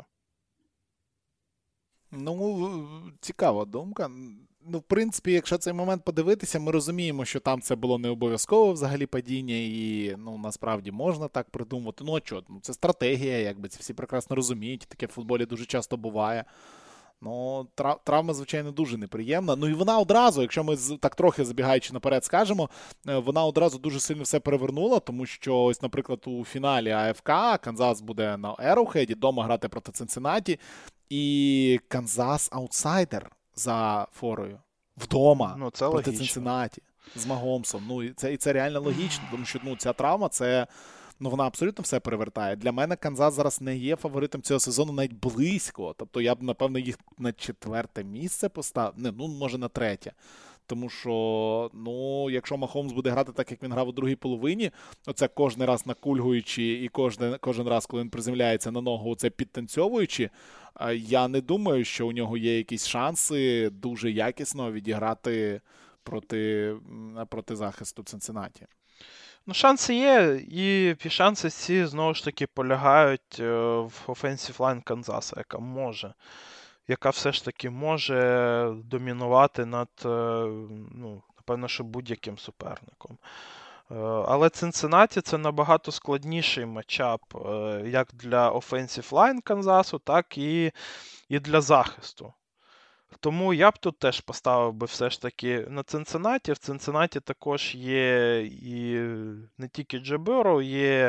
Ну, цікава думка. Ну, в принципі, якщо цей момент подивитися, ми розуміємо, що там це було не обов'язково взагалі падіння, і, ну, насправді можна так придумати. Ну, а чого? Ну, це стратегія, якби, це всі прекрасно розуміють, таке в футболі дуже часто буває. Ну, травма, звичайно, дуже неприємна. Ну і вона одразу, якщо ми так трохи забігаючи наперед скажемо, вона одразу дуже сильно все перевернула, тому що ось, наприклад, у фіналі АФК Канзас буде на Ероухеді, дома грати проти Цинциннаті, і Канзас аутсайдер за форою. Вдома ну, це проти логічно. Цинциннаті з Магомсом. Ну, і це, і це реально логічно, тому що ну, ця травма, це... Ну, вона абсолютно все перевертає. Для мене Канзас зараз не є фаворитом цього сезону навіть близько. Тобто я б, напевно, їх на четверте місце поставив. Не, ну, може, на третє. Тому що, ну, якщо Махомс буде грати так, як він грав у другій половині, оце кожен раз накульгуючи і кожен, кожен раз, коли він приземляється на ногу, оце підтанцьовуючи, я не думаю, що у нього є якісь шанси дуже якісно відіграти проти, проти захисту Цинциннаті. Ну, шанси є, і шанси ці, знову ж таки, полягають в offensive line Канзаса, яка може, яка все ж таки може домінувати над, ну, напевно, що будь-яким суперником. Але Цинциннаті це набагато складніший матчап як для offensive line Канзасу, так і, і для захисту. Тому я б тут теж поставив би все ж таки на Цинциннаті. В Цинциннаті також є і не тільки Джо Берроу, є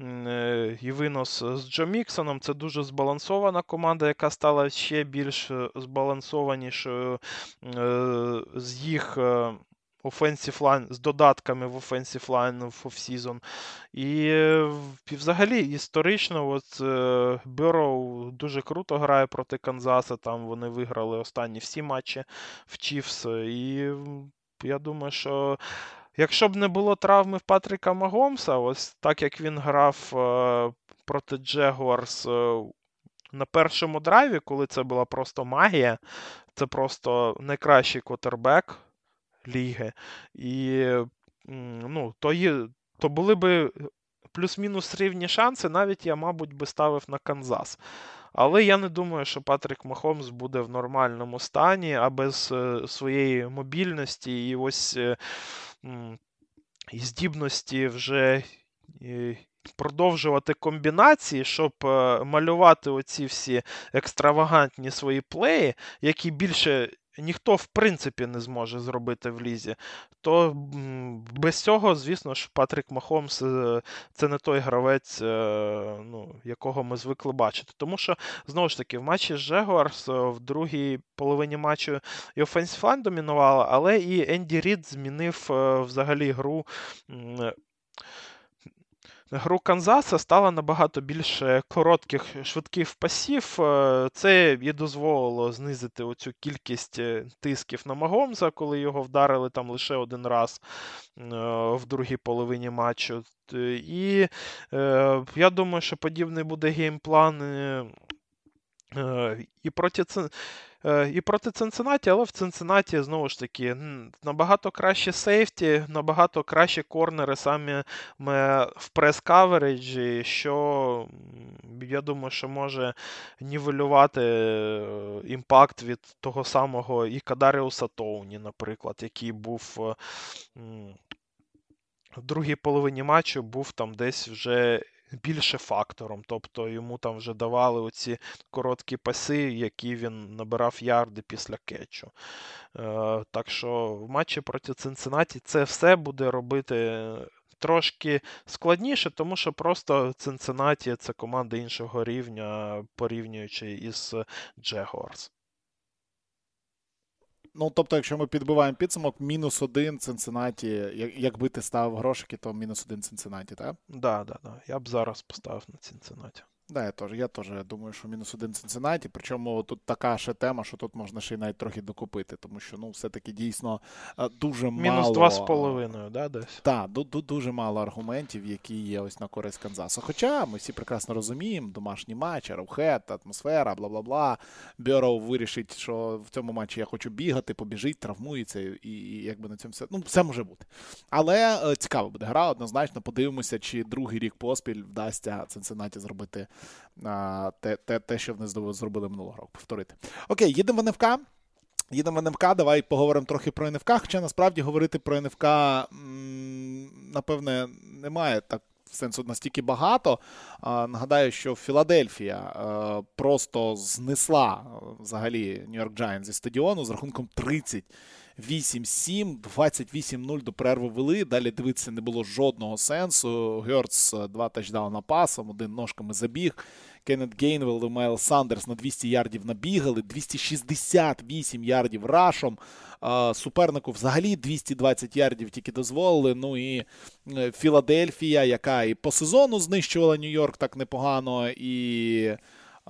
і винос з Джо Міксоном. Це дуже збалансована команда, яка стала ще більш збалансованішою з їх offensive line, з додатками в offensive line в офсізон. І, і взагалі історично от Берроу дуже круто грає проти Канзаса, там вони виграли останні всі матчі в Чіфс. І я думаю, що якщо б не було травми в Патріка Магомса, ось так як він грав проти Джегуарс на першому драйві, коли це була просто магія, це просто найкращий квотербек ліги. І ну, то, є, то були би плюс-мінус рівні шанси, навіть я, мабуть, би ставив на Канзас. Але я не думаю, що Патрік Махомс буде в нормальному стані, а без своєї мобільності і ось і здібності вже продовжувати комбінації, щоб малювати оці всі екстравагантні свої плеї, які більше ніхто в принципі не зможе зробити в лізі, то без цього, звісно ж, Патрік Махомс це не той гравець, ну, якого ми звикли бачити. Тому що, знову ж таки, в матчі з Джегуарс в другій половині матчу і офенсив лайн домінувала, але і Енді Рід змінив взагалі гру. Гру Канзаса стала набагато більше коротких, швидких пасів. Це і дозволило знизити оцю кількість тисків на Магомза, коли його вдарили там лише один раз в другій половині матчу. І е, я думаю, що подібний буде геймплан е, і проти І проти Цинциннаті, але в Цинциннаті, знову ж таки, набагато краще сейфті, набагато кращі корнери саме в прес-кавереджі, що, я думаю, що може нівелювати імпакт від того самого і Кадаріуса Тоуні, наприклад, який був в другій половині матчу, був там десь вже більше фактором, тобто йому там вже давали оці короткі паси, які він набирав ярди після кетчу. Е, так що в матчі проти Цинциннаті це все буде робити трошки складніше, тому що просто Цинциннаті – це команда іншого рівня, порівнюючи із Джегуарс. Ну, тобто, якщо ми підбиваємо підсумок, мінус один Цинциннаті, якби ти ставив грошики, то мінус один Цинциннаті, так? Так, да, да, да. Я б зараз поставив на Цинциннаті. Да, я теж, я теж думаю, що мінус один Цинциннаті, причому тут така ще тема, що тут можна ще й навіть трохи докупити, тому що, ну, все-таки дійсно дуже мінус мало... Мінус два з половиною, да, десь? Так, дуже мало аргументів, які є ось на користь Канзасу. Хоча ми всі прекрасно розуміємо, домашній матч, Arrowhead, атмосфера, бла-бла-бла. Бьорроу вирішить, що в цьому матчі я хочу бігати, побіжить, травмується, і, і якби на цьому все, ну, все може бути. Але е, цікава буде гра, однозначно, подивимося, чи другий рік поспіль вдасться Цинциннаті зробити а, те, те, те, що вони зробили минулого року, повторити. Окей, їдемо в ен еф ка. Їдемо в ен еф ка, давай поговоримо трохи про ен еф ка, хоча насправді говорити про ен еф ка, напевне, немає так сенсу настільки багато. Нагадаю, що Філадельфія просто знесла взагалі Нью-Йорк Джайантс зі стадіону з рахунком тридцять вісім сім, двадцять вісім нуль до перерви вели, далі дивитися не було жодного сенсу. Гьорц два тачдауна пасом, один ножками забіг. Кеннет Гейнвелл і Майлз Сандерс на двісті ярдів набігали, двісті шістдесят вісім ярдів рашом. Супернику взагалі двісті двадцять ярдів тільки дозволили. Ну і Філадельфія, яка і по сезону знищувала Нью-Йорк так непогано, і...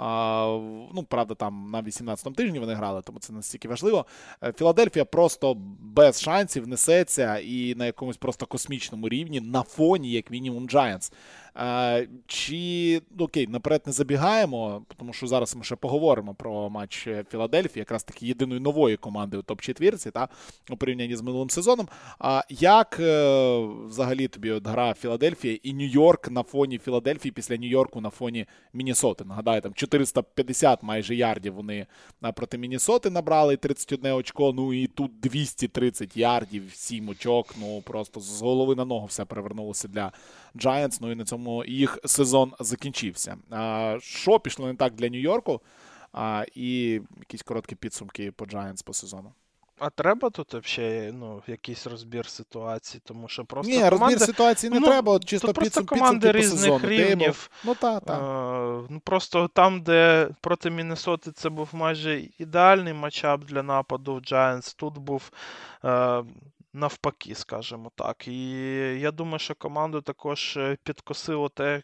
Uh, ну, правда, там на вісімнадцятому тижні вони грали, тому це настільки важливо. Філадельфія просто без шансів несеться і на якомусь просто космічному рівні на фоні, як мінімум, Giants. Uh, чи, окей, наперед не забігаємо, тому що зараз ми ще поговоримо про матч Філадельфії, якраз таки єдиної нової команди у топ-четвірці, та, у порівнянні з минулим сезоном. А як uh, взагалі тобі от гра Філадельфія і Нью-Йорк на фоні Філадельфії після Нью-Йорку на фоні Міннесоти? Нагадаю, там чотириста п'ятдесят майже ярдів вони проти Міннесоти набрали, тридцять одне очко, ну і тут двісті тридцять ярдів, сім очок, ну просто з голови на ногу все перевернулося для Giants, ну і на цьому їх сезон закінчився. А, що пішло не так для Нью-Йорку? А, і якісь короткі підсумки по Giants по сезону. А треба тут взагалі, ну, якийсь розбір ситуації, тому що просто Ні, команди... розбір ситуації не ну, треба, от чисто тут підсум, просто команди підсумки по сезону. різних рівнів. Ну, та, та. А, ну, просто там, де проти Міннесоти це був майже ідеальний матчап для нападу в Giants, тут був а, навпаки, скажімо так. І я думаю, що команду також підкосило те,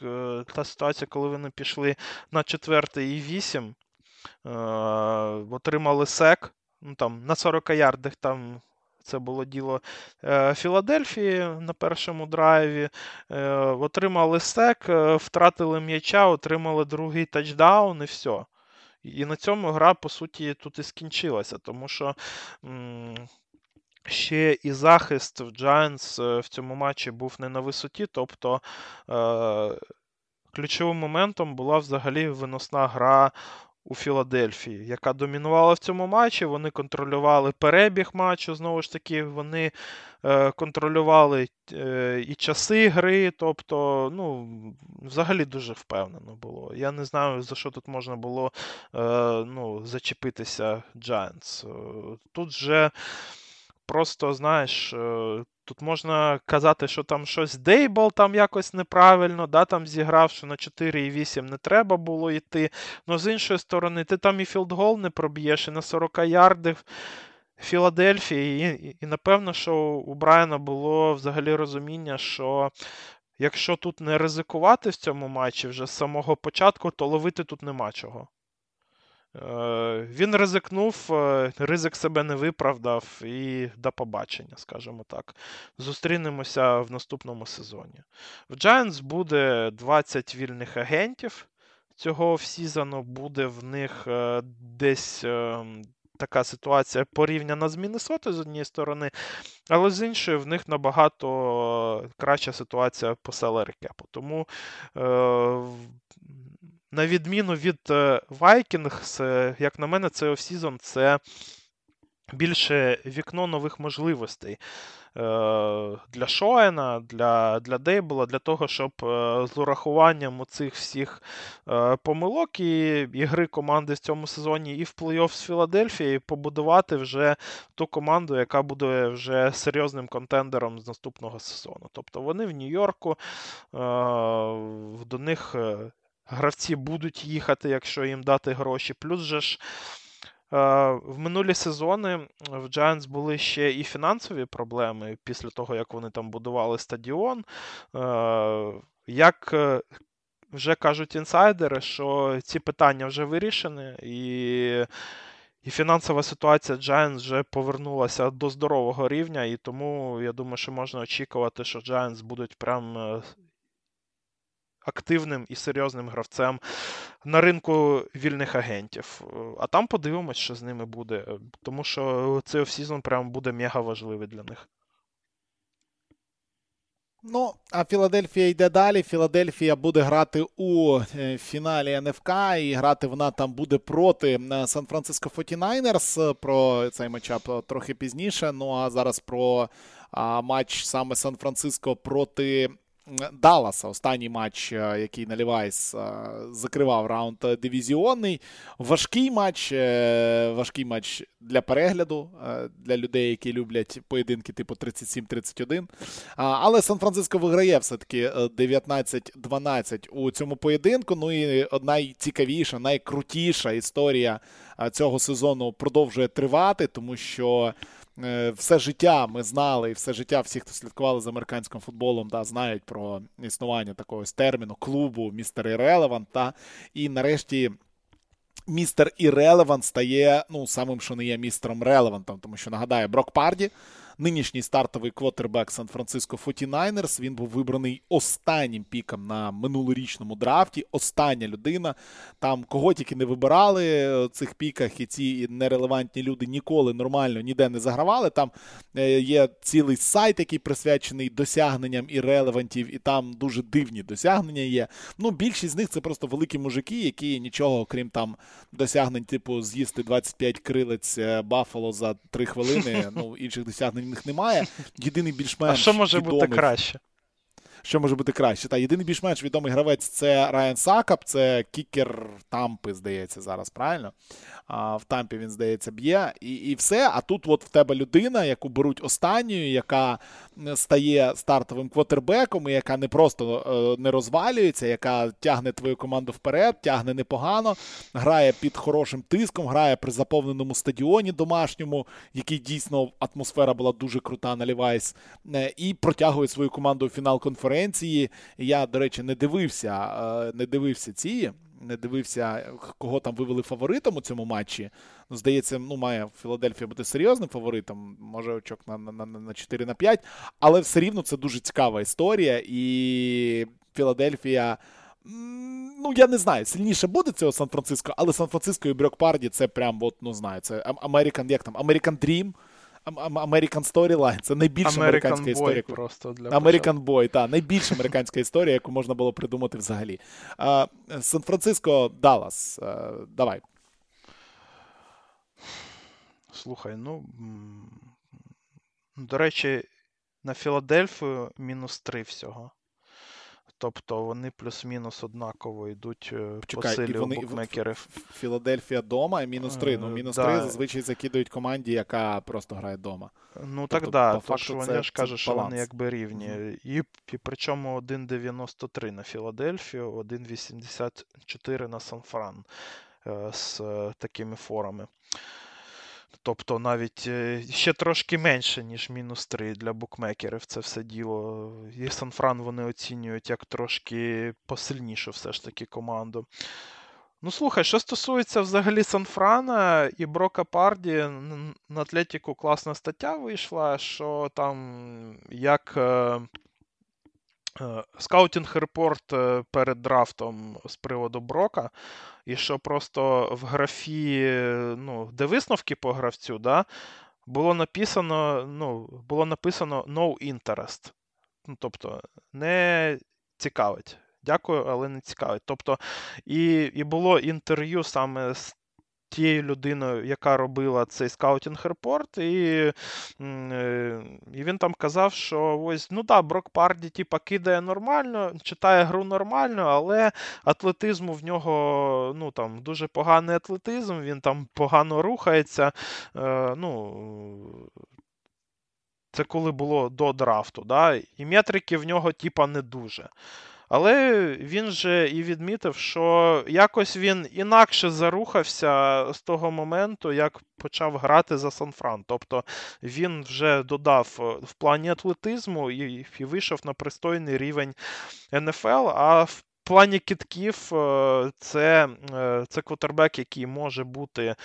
та ситуація, коли вони пішли на четвертий і вісім, а, отримали сек. Ну, там, на сорок ярдах там це було діло е, Філадельфії на першому драйві. Е, отримали сек, е, втратили м'яча, отримали другий тачдаун і все. І на цьому гра, по суті, тут і скінчилася, тому що м- ще і захист в Giants в цьому матчі був не на висоті, тобто е- ключовим моментом була взагалі виносна гра у Філадельфії, яка домінувала в цьому матчі. Вони контролювали перебіг матчу, знову ж таки, вони е, контролювали е, і часи гри, тобто, ну, взагалі дуже впевнено було. Я не знаю, за що тут можна було е, ну, зачепитися Giants. Тут же просто, знаєш, тут можна казати, що там щось Дейбл там якось неправильно, да, там зіграв, що на чотири вісім не треба було йти. Но з іншої сторони, ти там і філдгол не проб'єш, і на сорок ярдів Філадельфії, і, і напевно, що у Брайана було взагалі розуміння, що якщо тут не ризикувати в цьому матчі вже з самого початку, то ловити тут нема чого. Він ризикнув, ризик себе не виправдав і до побачення, скажімо так. Зустрінемося в наступному сезоні. В Giants буде двадцять вільних агентів цього офсізону, буде в них десь така ситуація порівняна з Міннесотою з однієї сторони, але з іншої в них набагато краща ситуація по salary cap. Тому на відміну від Vikings, як на мене, цей офсізон – це більше вікно нових можливостей для Шоена, для, для Дейбла, для того, щоб з урахуванням оцих всіх помилок і ігри команди в цьому сезоні і в плей-офф з Філадельфією побудувати вже ту команду, яка буде вже серйозним контендером з наступного сезону. Тобто вони в Нью-Йорку, до них гравці будуть їхати, якщо їм дати гроші. Плюс же ж в минулі сезони в Giants були ще і фінансові проблеми після того, як вони там будували стадіон. Як вже кажуть інсайдери, що ці питання вже вирішені, і, і фінансова ситуація Giants вже повернулася до здорового рівня, і тому я думаю, що можна очікувати, що Giants будуть прям активним і серйозним гравцем на ринку вільних агентів. А там подивимось, що з ними буде. Тому що цей офсізон прям буде мега важливий для них. Ну, а Філадельфія йде далі. Філадельфія буде грати у фіналі ен еф ка, і грати вона там буде проти Сан-Франциско форті-найнерс. Про цей матчап трохи пізніше. Ну, а зараз про а, матч саме Сан-Франциско проти Далласа. Останній матч, який на Лівайс закривав раунд дивізіонний. Важкий матч, важкий матч для перегляду, для людей, які люблять поєдинки типу тридцять сім тридцять один. Але Сан-Франциско виграє все-таки дев'ятнадцять дванадцять у цьому поєдинку. Ну і найцікавіша, найкрутіша історія цього сезону продовжує тривати, тому що все життя ми знали, і все життя всі, хто слідкували за американським футболом, да, знають про існування такого терміну клубу містер Іррелевант. Та, і нарешті містер Іррелевант стає, ну, самим, що не є містером Релевантом, тому що, нагадаю, Брок Парді, нинішній стартовий квотербек Сан-Франциско форті-найнерс, він був вибраний останнім піком на минулорічному драфті, остання людина. Там кого тільки не вибирали в цих піках, і ці нерелевантні люди ніколи нормально ніде не загравали. Там є цілий сайт, який присвячений досягненням і релевантів, і там дуже дивні досягнення є. Ну, більшість з них це просто великі мужики, які нічого, окрім там досягнень, типу з'їсти двадцять п'ять крилець Баффало за три хвилини, ну, інших досягнень в них немає. Єдиний більш-менш А що може відомий... бути краще? Що може бути краще? Та, єдиний більш-менш відомий гравець – це Райан Сакап, це кікер Тампи, здається, зараз, правильно? А, в Тампі він, здається, б'є. І, і все. А тут от в тебе людина, яку беруть останньою, яка стає стартовим квотербеком, і яка не просто е, не розвалюється, яка тягне твою команду вперед, тягне непогано, грає під хорошим тиском, грає при заповненому стадіоні домашньому, який дійсно атмосфера була дуже крута на Лівайс, е, і протягує свою команду у фінал конференції. Я, до речі, не дивився, е, не дивився ці... не дивився, кого там вивели фаворитом у цьому матчі. Ну, здається, ну, має Філадельфія бути серйозним фаворитом, може очок на, на, на чотири на п'ять, але все рівно це дуже цікава історія, і Філадельфія, ну, я не знаю, сильніше буде цього Сан-Франциско, але Сан-Франциско і Брок Парді це прям, от, ну, знаю, це American, як там, American Dream, American Storyline, це найбільша American американська Boy історія. Просто для American Boy, так, найбільша американська історія, яку можна було придумати взагалі. А, Сан-Франциско, Даллас, а, давай. Слухай, ну, до речі, на Філадельфію мінус три всього. Тобто вони плюс-мінус однаково йдуть по Почекай, і силі у вони букмекерів. Ф- Філадельфія дома і мінус три. Ну, Е, мінус да. три зазвичай закидують команді, яка просто грає вдома. Ну Тобто, так да, по то факту, ж вони це- ж це кажуть, що вони баланс. якби рівні. Мгм. І, і причому один дев'яносто три на Філадельфію, один вісімдесят чотири на Сан-Фран е, з е, такими форами. Тобто навіть е, ще трошки менше, ніж мінус три для букмекерів це все діло. І Сан-Фран вони оцінюють як трошки посильнішу все ж таки команду. Ну, слухай, що стосується взагалі Сан-Франа і Брока Парді, н- на Атлетіку класна стаття вийшла, що там як е, е, скаутінг-репорт е, перед драфтом з приводу Брока, і що просто в графі, е, ну, де висновки по гравцю, да, було написано, ну, було написано no interest. Ну, тобто, не цікавить. Дякую, але не цікавить. Тобто, і, і було інтерв'ю саме з тією людиною, яка робила цей скаутінг-репорт, і, м, е, і він там казав, що ось, ну так, Брок Парді, типа, кидає нормально, читає гру нормально, але атлетизму в нього, ну, там, дуже поганий атлетизм, він там погано рухається, е, ну, це коли було до драфту, да? І метрики в нього, типа, не дуже. Але він же і відмітив, що якось він інакше зарухався з того моменту, як почав грати за Сан-Фран. Тобто він вже додав в плані атлетизму і, і вийшов на пристойний рівень ен еф ел, а в плані кидків це, це квотербек, який може бути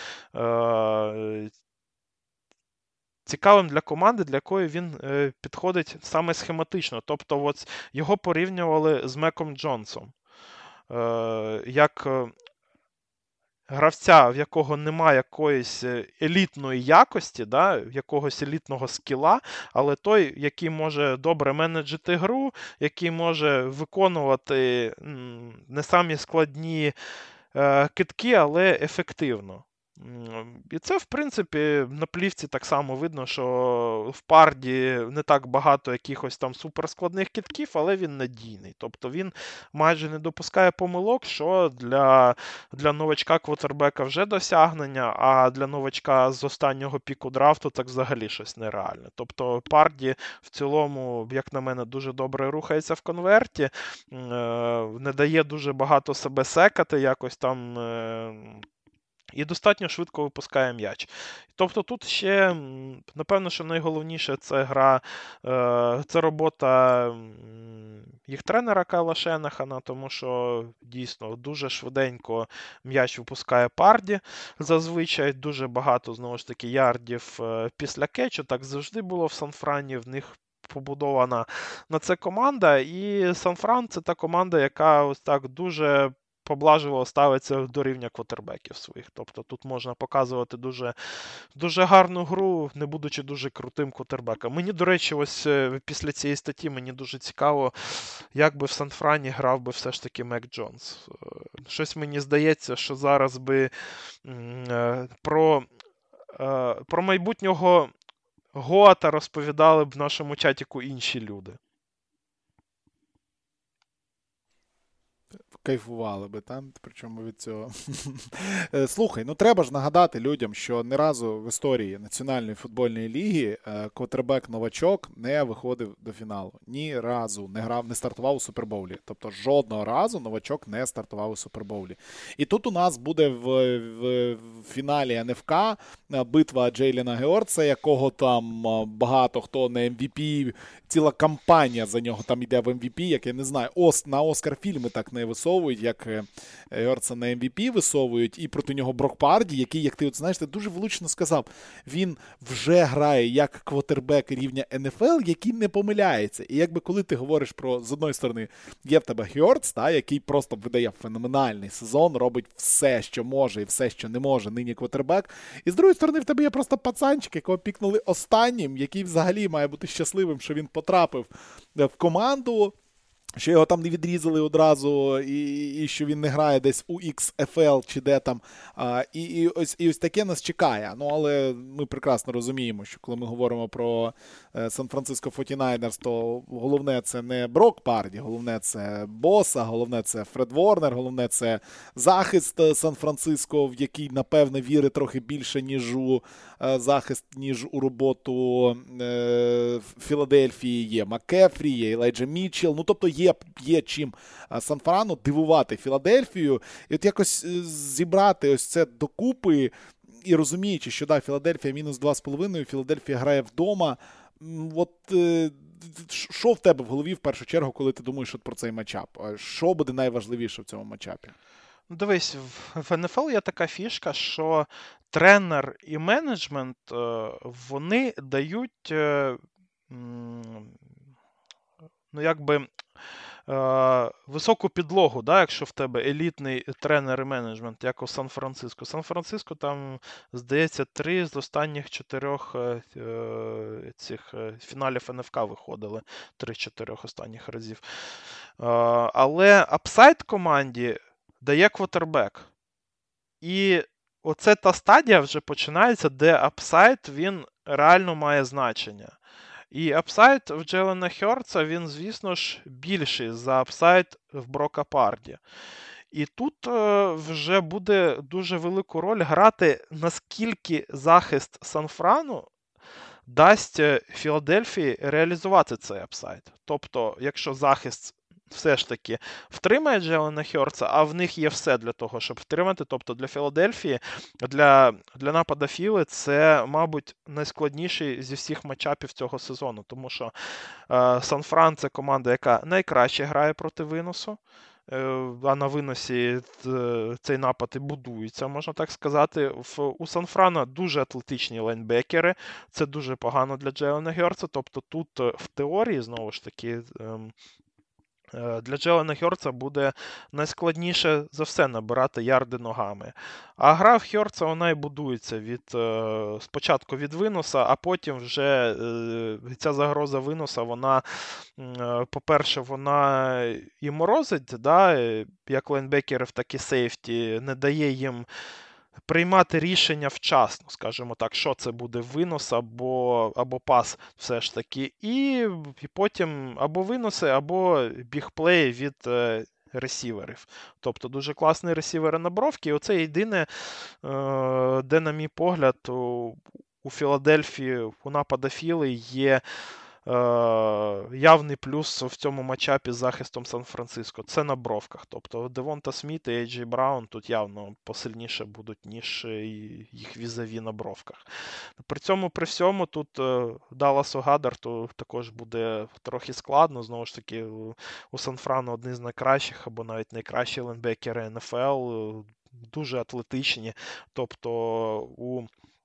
цікавим для команди, для якої він е, підходить саме схематично. Тобто от його порівнювали з Меком Джонсом. Е, як е, гравця, в якого немає якоїсь елітної якості, да, якогось елітного скіла, але той, який може добре менеджити гру, який може виконувати м, не самі складні е, кидки, але ефективно. І це, в принципі, на плівці так само видно, що в Парді не так багато якихось там суперскладних кидків, але він надійний. Тобто він майже не допускає помилок, що для, для новачка квотербека вже досягнення, а для новачка з останнього піку драфту так взагалі щось нереальне. Тобто Парді в цілому, як на мене, дуже добре рухається в конверті, не дає дуже багато себе секати, якось там... І достатньо швидко випускає м'яч. Тобто тут ще, напевно, що найголовніше це гра, це робота їх тренера Кайла Шенахана, тому що дійсно дуже швиденько м'яч випускає Парді. Зазвичай дуже багато, знову ж таки, ярдів після кетчу. Так завжди було в Сан-Франі, в них побудована на це команда. І Сан-Фран – це та команда, яка ось так дуже поблажливо ставиться до рівня квотербеків своїх. Тобто тут можна показувати дуже, дуже гарну гру, не будучи дуже крутим квотербеком. Мені, до речі, ось після цієї статті мені дуже цікаво, як би в Сан-Франі грав би все ж таки Мек Джонс. Щось мені здається, що зараз би про, про майбутнього Гоата розповідали б в нашому чатіку інші люди. Кайфували би там, причому від цього. Слухай, ну треба ж нагадати людям, що ні разу в історії Національної футбольної ліги квотербек-новачок не виходив до фіналу. Ні разу не грав, не стартував у Супербоулі. Тобто жодного разу новачок не стартував у Супербоулі. І тут у нас буде в, в, в фіналі ен еф ка битва Джейліна Георца, якого там багато хто на ем ві пі, ціла кампанія за нього там йде в ем ві пі, як я не знаю, Ос, на Оскар фільми так не висовують, як Георца на ем ві пі висовують, і проти нього Брок Парді, який, як ти от знаєш, ти дуже влучно сказав, він вже грає як квотербек рівня ен еф ел, який не помиляється. І якби коли ти говориш про, з одної сторони, є в тебе Георц, та, який просто видає феноменальний сезон, робить все, що може і все, що не може нині квотербек, і з другої сторони в тебе є просто пацанчик, якого пікнули останнім, який взагалі має бути щасливим, що він потрапив в команду, що його там не відрізали одразу, і, і що він не грає десь у ікс еф ел чи де там. А, і, і, ось, і ось таке нас чекає. Ну, але ми прекрасно розуміємо, що коли ми говоримо про Сан-Франциско форті-найнерс, то головне це не Брок Парді, головне це Боса, головне це Фред Ворнер, головне це захист Сан-Франциско, в який, напевне, вірить трохи більше, ніж у захист, ніж у роботу е, Філадельфії. Є Маккефрі, є Елайджа Мітчелл. Ну, тобто є, є чим Сан-Франу дивувати Філадельфію. І от якось зібрати ось це докупи і розуміючи, що да, Філадельфія мінус два з половиною, Філадельфія грає вдома. От е, що в тебе в голові в першу чергу, коли ти думаєш от про цей матчап? Що буде найважливіше в цьому матчапі? Дивись, в ен еф ел є така фішка, що тренер і менеджмент, вони дають, ну, якби, високу підлогу, да, якщо в тебе елітний тренер і менеджмент, як у Сан-Франциско. Сан-Франциско там, здається, три з останніх чотирьох цих фіналів ен еф ка виходили. Три-чотирьох останніх разів. Але апсайд команді дає квотербек. І оце та стадія вже починається, де апсайд, він реально має значення. І апсайд в Джелена Хьорца, він, звісно ж, більший за апсайд в Брока Парді. І тут е, вже буде дуже велику роль грати, наскільки захист Сан-Франу дасть Філадельфії реалізувати цей апсайд. Тобто, якщо захист все ж таки втримає Джелена Хьорца, а в них є все для того, щоб втримати. Тобто для Філадельфії, для, для напада Філи це, мабуть, найскладніший зі всіх матчапів цього сезону. Тому що е, Сан-Фран – це команда, яка найкраще грає проти виносу. А на виносі цей напад і будується, можна так сказати. В, у Сан-Франа дуже атлетичні лайнбекери. Це дуже погано для Джелена Хьорца. Тобто тут в теорії, знову ж таки, для Джелена Хьорца буде найскладніше за все набирати ярди ногами. А гра в Хьорца, вона і будується від, спочатку від виноса, а потім вже ця загроза виноса, вона, по-перше, вона і морозить, да, як лайнбекерів, так і сейфті, не дає їм приймати рішення вчасно, скажімо так, що це буде винос або, або пас все ж таки. І, і потім або виноси, або бігплеї від е, ресіверів. Тобто дуже класний ресівери на бровки. І оце єдине, е, де, на мій погляд, у, у Філадельфії, у напада Філи є явний плюс в цьому матчапі з захистом Сан-Франциско. Це на бровках. Тобто Девонта Сміт і Ей Джей Браун тут явно посильніше будуть, ніж їх візаві на бровках. При цьому, при всьому, тут Далласу Гаддарту також буде трохи складно. Знову ж таки, у Сан-Франу одні з найкращих, або навіть найкращі лайнбекери ен еф ел, дуже атлетичні. Тобто у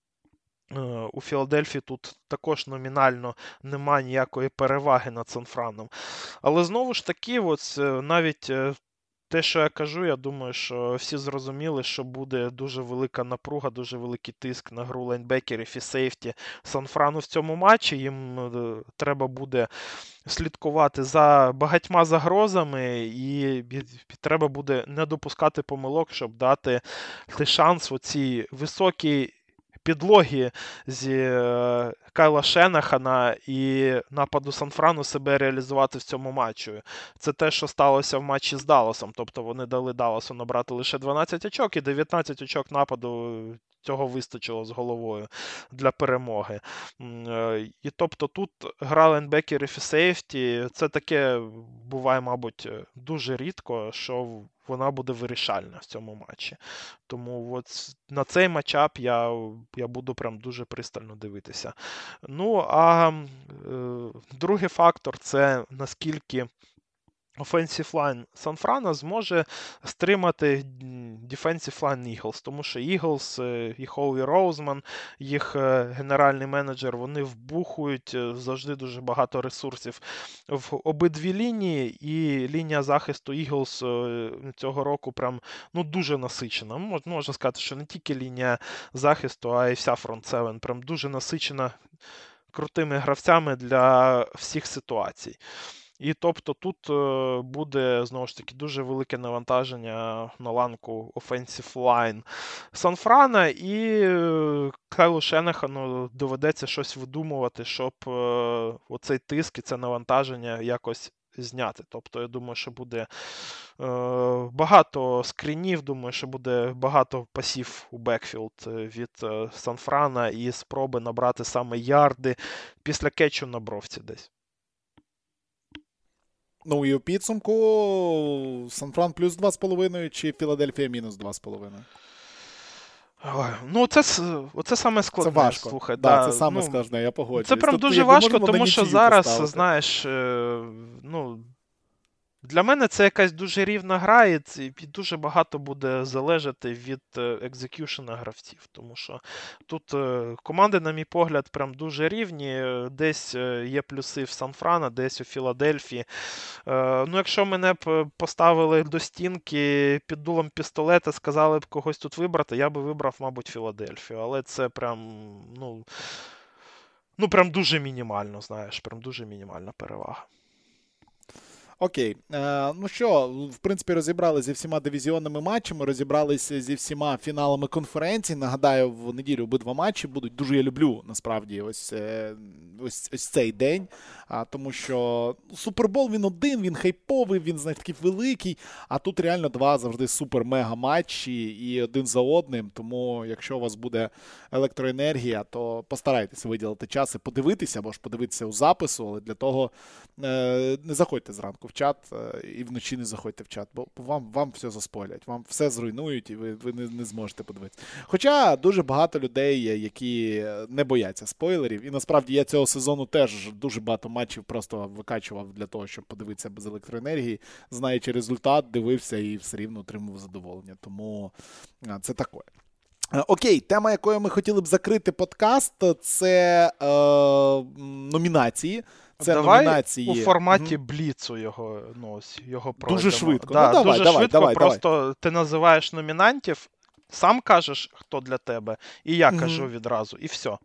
У Філадельфії тут також номінально немає ніякої переваги над Сан-Франом. Але знову ж таки, ось навіть те, що я кажу, я думаю, що всі зрозуміли, що буде дуже велика напруга, дуже великий тиск на гру лайнбекерів і сейфті Сан-Франу в цьому матчі. Їм треба буде слідкувати за багатьма загрозами, і треба буде не допускати помилок, щоб дати шанс оцій високій підлоги зі Кайла Шенахана і нападу Сан-Франу себе реалізувати в цьому матчі. Це те, що сталося в матчі з Далласом. Тобто вони дали Далласу набрати лише дванадцять очок, і дев'ятнадцять очок нападу цього вистачило з головою для перемоги. І тобто тут гра лайнбекерів і сейфті, це таке буває, мабуть, дуже рідко, що вона буде вирішальна в цьому матчі. Тому от на цей матчап я, я буду прям дуже пристально дивитися. Ну, а е, другий фактор – це наскільки offensive line Сан-Франа зможе стримати defensive line Eagles, тому що Eagles і Холлі Роузман, їх генеральний менеджер, вони вбухують завжди дуже багато ресурсів в обидві лінії, і лінія захисту Eagles цього року прям, ну, дуже насичена. Можна сказати, що не тільки лінія захисту, а й вся фронт-севен прям дуже насичена крутими гравцями для всіх ситуацій. І тобто тут буде, знову ж таки, дуже велике навантаження на ланку offensive line Сан-Франа, і Кайлу Шенахану доведеться щось видумувати, щоб оцей тиск і це навантаження якось зняти. Тобто, я думаю, що буде е, багато скрінів, думаю, що буде багато пасів у бекфілд від е, Сан-Франа і спроби набрати саме ярди після кетчу на бровці десь. Ну і у підсумку Сан-Фран плюс два з половиною чи Філадельфія мінус два з половиною? Ну, це, це саме складне. Це важко. Слухай, да, да, це саме ну, складне, я погоджуюсь. Це прям тобто, дуже важко, тому що зараз, поставити. знаєш, ну, для мене це якась дуже рівна гра, і, і дуже багато буде залежати від екзекюшена гравців. Тому що тут команди, на мій погляд, прям дуже рівні. Десь є плюси в Сан-Франа, десь у Філадельфії. Ну, якщо мене б поставили до стінки під дулом пістолета, сказали б когось тут вибрати, я би вибрав, мабуть, Філадельфію. Але це прям, ну, ну прям дуже мінімально, знаєш, прям дуже мінімальна перевага. Окей. Е, ну що, в принципі, розібралися зі всіма дивізіонними матчами, розібралися зі всіма фіналами конференції. Нагадаю, в неділю обидва матчі будуть. Дуже я люблю, насправді, ось, ось, ось цей день. А, тому що Супербол, він один, він хайповий, він, знаєте, такий великий. А тут реально два завжди супер-мега матчі і один за одним. Тому, якщо у вас буде електроенергія, то постарайтеся виділити час і подивитися, або ж подивитися у запису, але для того е, не заходьте зранку в чат і вночі не заходьте в чат, бо вам, вам все заспойлять, вам все зруйнують і ви, ви не, не зможете подивитися. Хоча дуже багато людей, які не бояться спойлерів, і насправді я цього сезону теж дуже багато матчів просто викачував для того, щоб подивитися без електроенергії, знаючи результат, дивився і все рівно отримував задоволення. Тому це таке. Окей, тема, якою ми хотіли б закрити подкаст, це е, номінації. Це давай номінації у форматі бліцу його, ну, його пройдемо. Дуже швидко. Да, ну, давай, дуже давай, швидко, давай, просто давай. ти називаєш номінантів, сам кажеш, хто для тебе, і я Угу. кажу відразу, і все.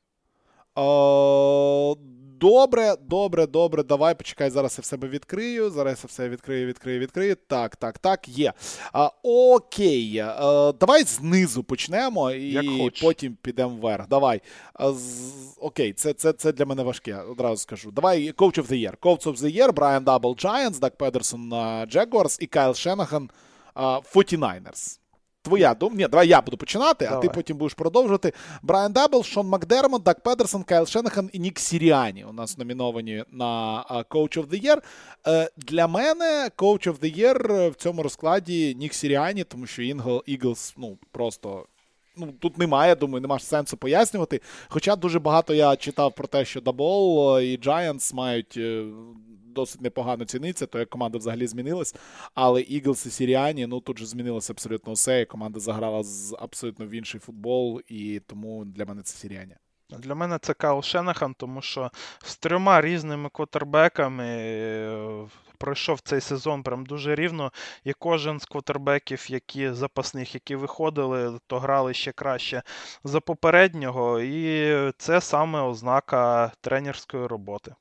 О, добре, добре, добре, давай, почекай, зараз я в себе відкрию, зараз я все відкрию, відкрию, відкрию. Так, так, так, є. А, окей, а, давай знизу почнемо і потім підемо вверх. Давай. А, з, окей, це, це, це для мене важке, одразу скажу. Давай, Coach of the Year. Coach of the Year, Брайан Дабл Giants, Даг Педерсон Jaguars і Кайл Шенаган форті-найнерс. Твоя думка. Ні, давай я буду починати, давай. А ти потім будеш продовжувати. Брайан Дабл, Шон Макдермот, Даг Педерсон, Кайл Шенахан і Нік Сіріані у нас номіновані на Coach of the Year. Для мене Coach of the Year в цьому розкладі Нік Сіріані, тому що Eagles, ну, просто... Ну, тут немає, думаю, нема сенсу пояснювати. Хоча дуже багато я читав про те, що Дабл і Giants мають досить непогано ціниться, то як команда взагалі змінилась. Але Eagles і Сіріані, ну тут же змінилося абсолютно все, і команда заграла з абсолютно в інший футбол, і тому для мене це Сіріані. Для мене це Кайл Шенахан, тому що з трьома різними квотербеками пройшов цей сезон прям дуже рівно, і кожен з квотербеків, які запасних, які виходили, то грали ще краще за попереднього, і це саме ознака тренерської роботи.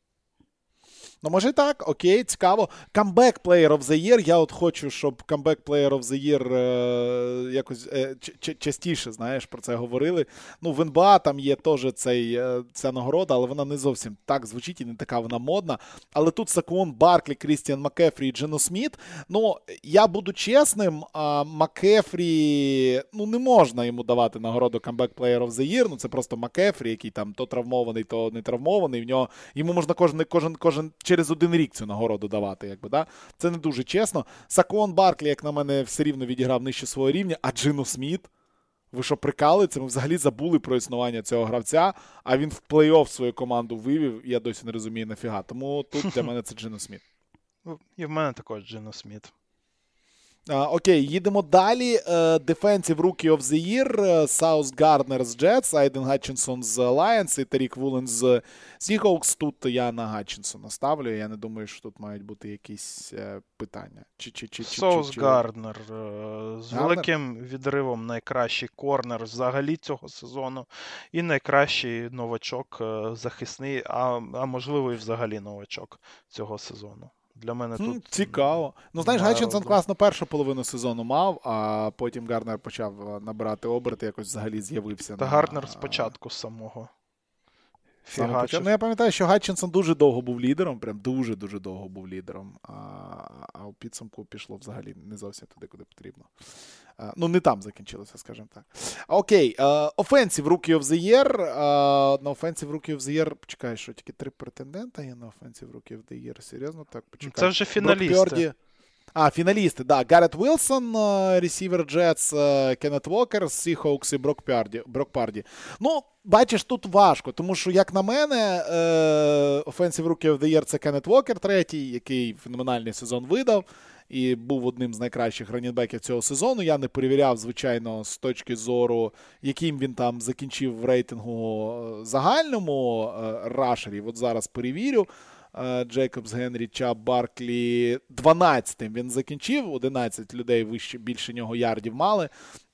Ну, може так, окей, цікаво. Comeback Player of the Year. Я от хочу, щоб Comeback Player of the Year е, якось е, ч- частіше, знаєш, про це говорили. Ну, в ен би ей там є теж цей, е, ця нагорода, але вона не зовсім так звучить і не така вона модна. Але тут Сакуон Барклі, Крістіан Маккефрі і Джено Сміт. Ну, я буду чесним, а Маккефрі, ну, не можна йому давати нагороду Comeback Player of the Year. Ну, це просто Маккефрі, який там то травмований, то не травмований. В нього, йому можна кожен, кожен, кожен через один рік цю нагороду давати, якби, да? Це не дуже чесно. Сакуон Барклі, як на мене, все рівно відіграв нижче свого рівня, а Джино Сміт, ви що, прикалуєте? Ми взагалі забули про існування цього гравця, а він в плей-офф свою команду вивів, я досі не розумію нафіга. Тому тут для мене це Джино Сміт. І в мене також Джино Сміт. А, окей, їдемо далі. Defensive Rookie of the Year. Саус Гарднер з Jets, Айден Гатчинсон з Lions і Тарік Вулен з Seahawks. Тут я на Гатчинсона ставлю. Я не думаю, що тут мають бути якісь е, питання. Чи, чи, чи, Саус чи, чи, Гарднер е, з Гарднер? великим відривом найкращий корнер взагалі цього сезону. І найкращий новачок е, захисний, а, а можливо і взагалі новачок цього сезону. Для мене Хм, тут цікаво. Ну, знаєш, Гатчинсон класно першу половину сезону мав, а потім Гарнер почав набирати оберти, якось взагалі з'явився. Та на... Гарнер спочатку самого. Саме почав. Ну, я пам'ятаю, що Гатчинсон дуже довго був лідером, прям дуже-дуже довго був лідером, а, а у підсумку пішло взагалі не зовсім туди, куди потрібно. А, ну, не там закінчилося, скажімо так. Окей, uh, Offensive Rookie of the Year. Uh, на Offensive Rookie of the Year, почекай, що тільки три претендента є на Offensive Rookie of the Year, серйозно? Так, почекай. Це вже фіналісти. А, фіналісти, да. Гаррет Вілсон, ресівер Джетс, Кеннет Вокер, Seahawks і Брок Парді. Брок Парді. Ну, бачиш, тут важко, тому що, як на мене, Offensive Rookie of the Year – це Кеннет Вокер третій, який феноменальний сезон видав і був одним з найкращих раннінбеків цього сезону. Я не перевіряв, звичайно, з точки зору, яким він там закінчив в рейтингу загальному рашерів. От зараз перевірю. Джейкобс, Генрі, Чаб, Барклі дванадцятим він закінчив, одинадцять людей вище, більше нього ярдів мали,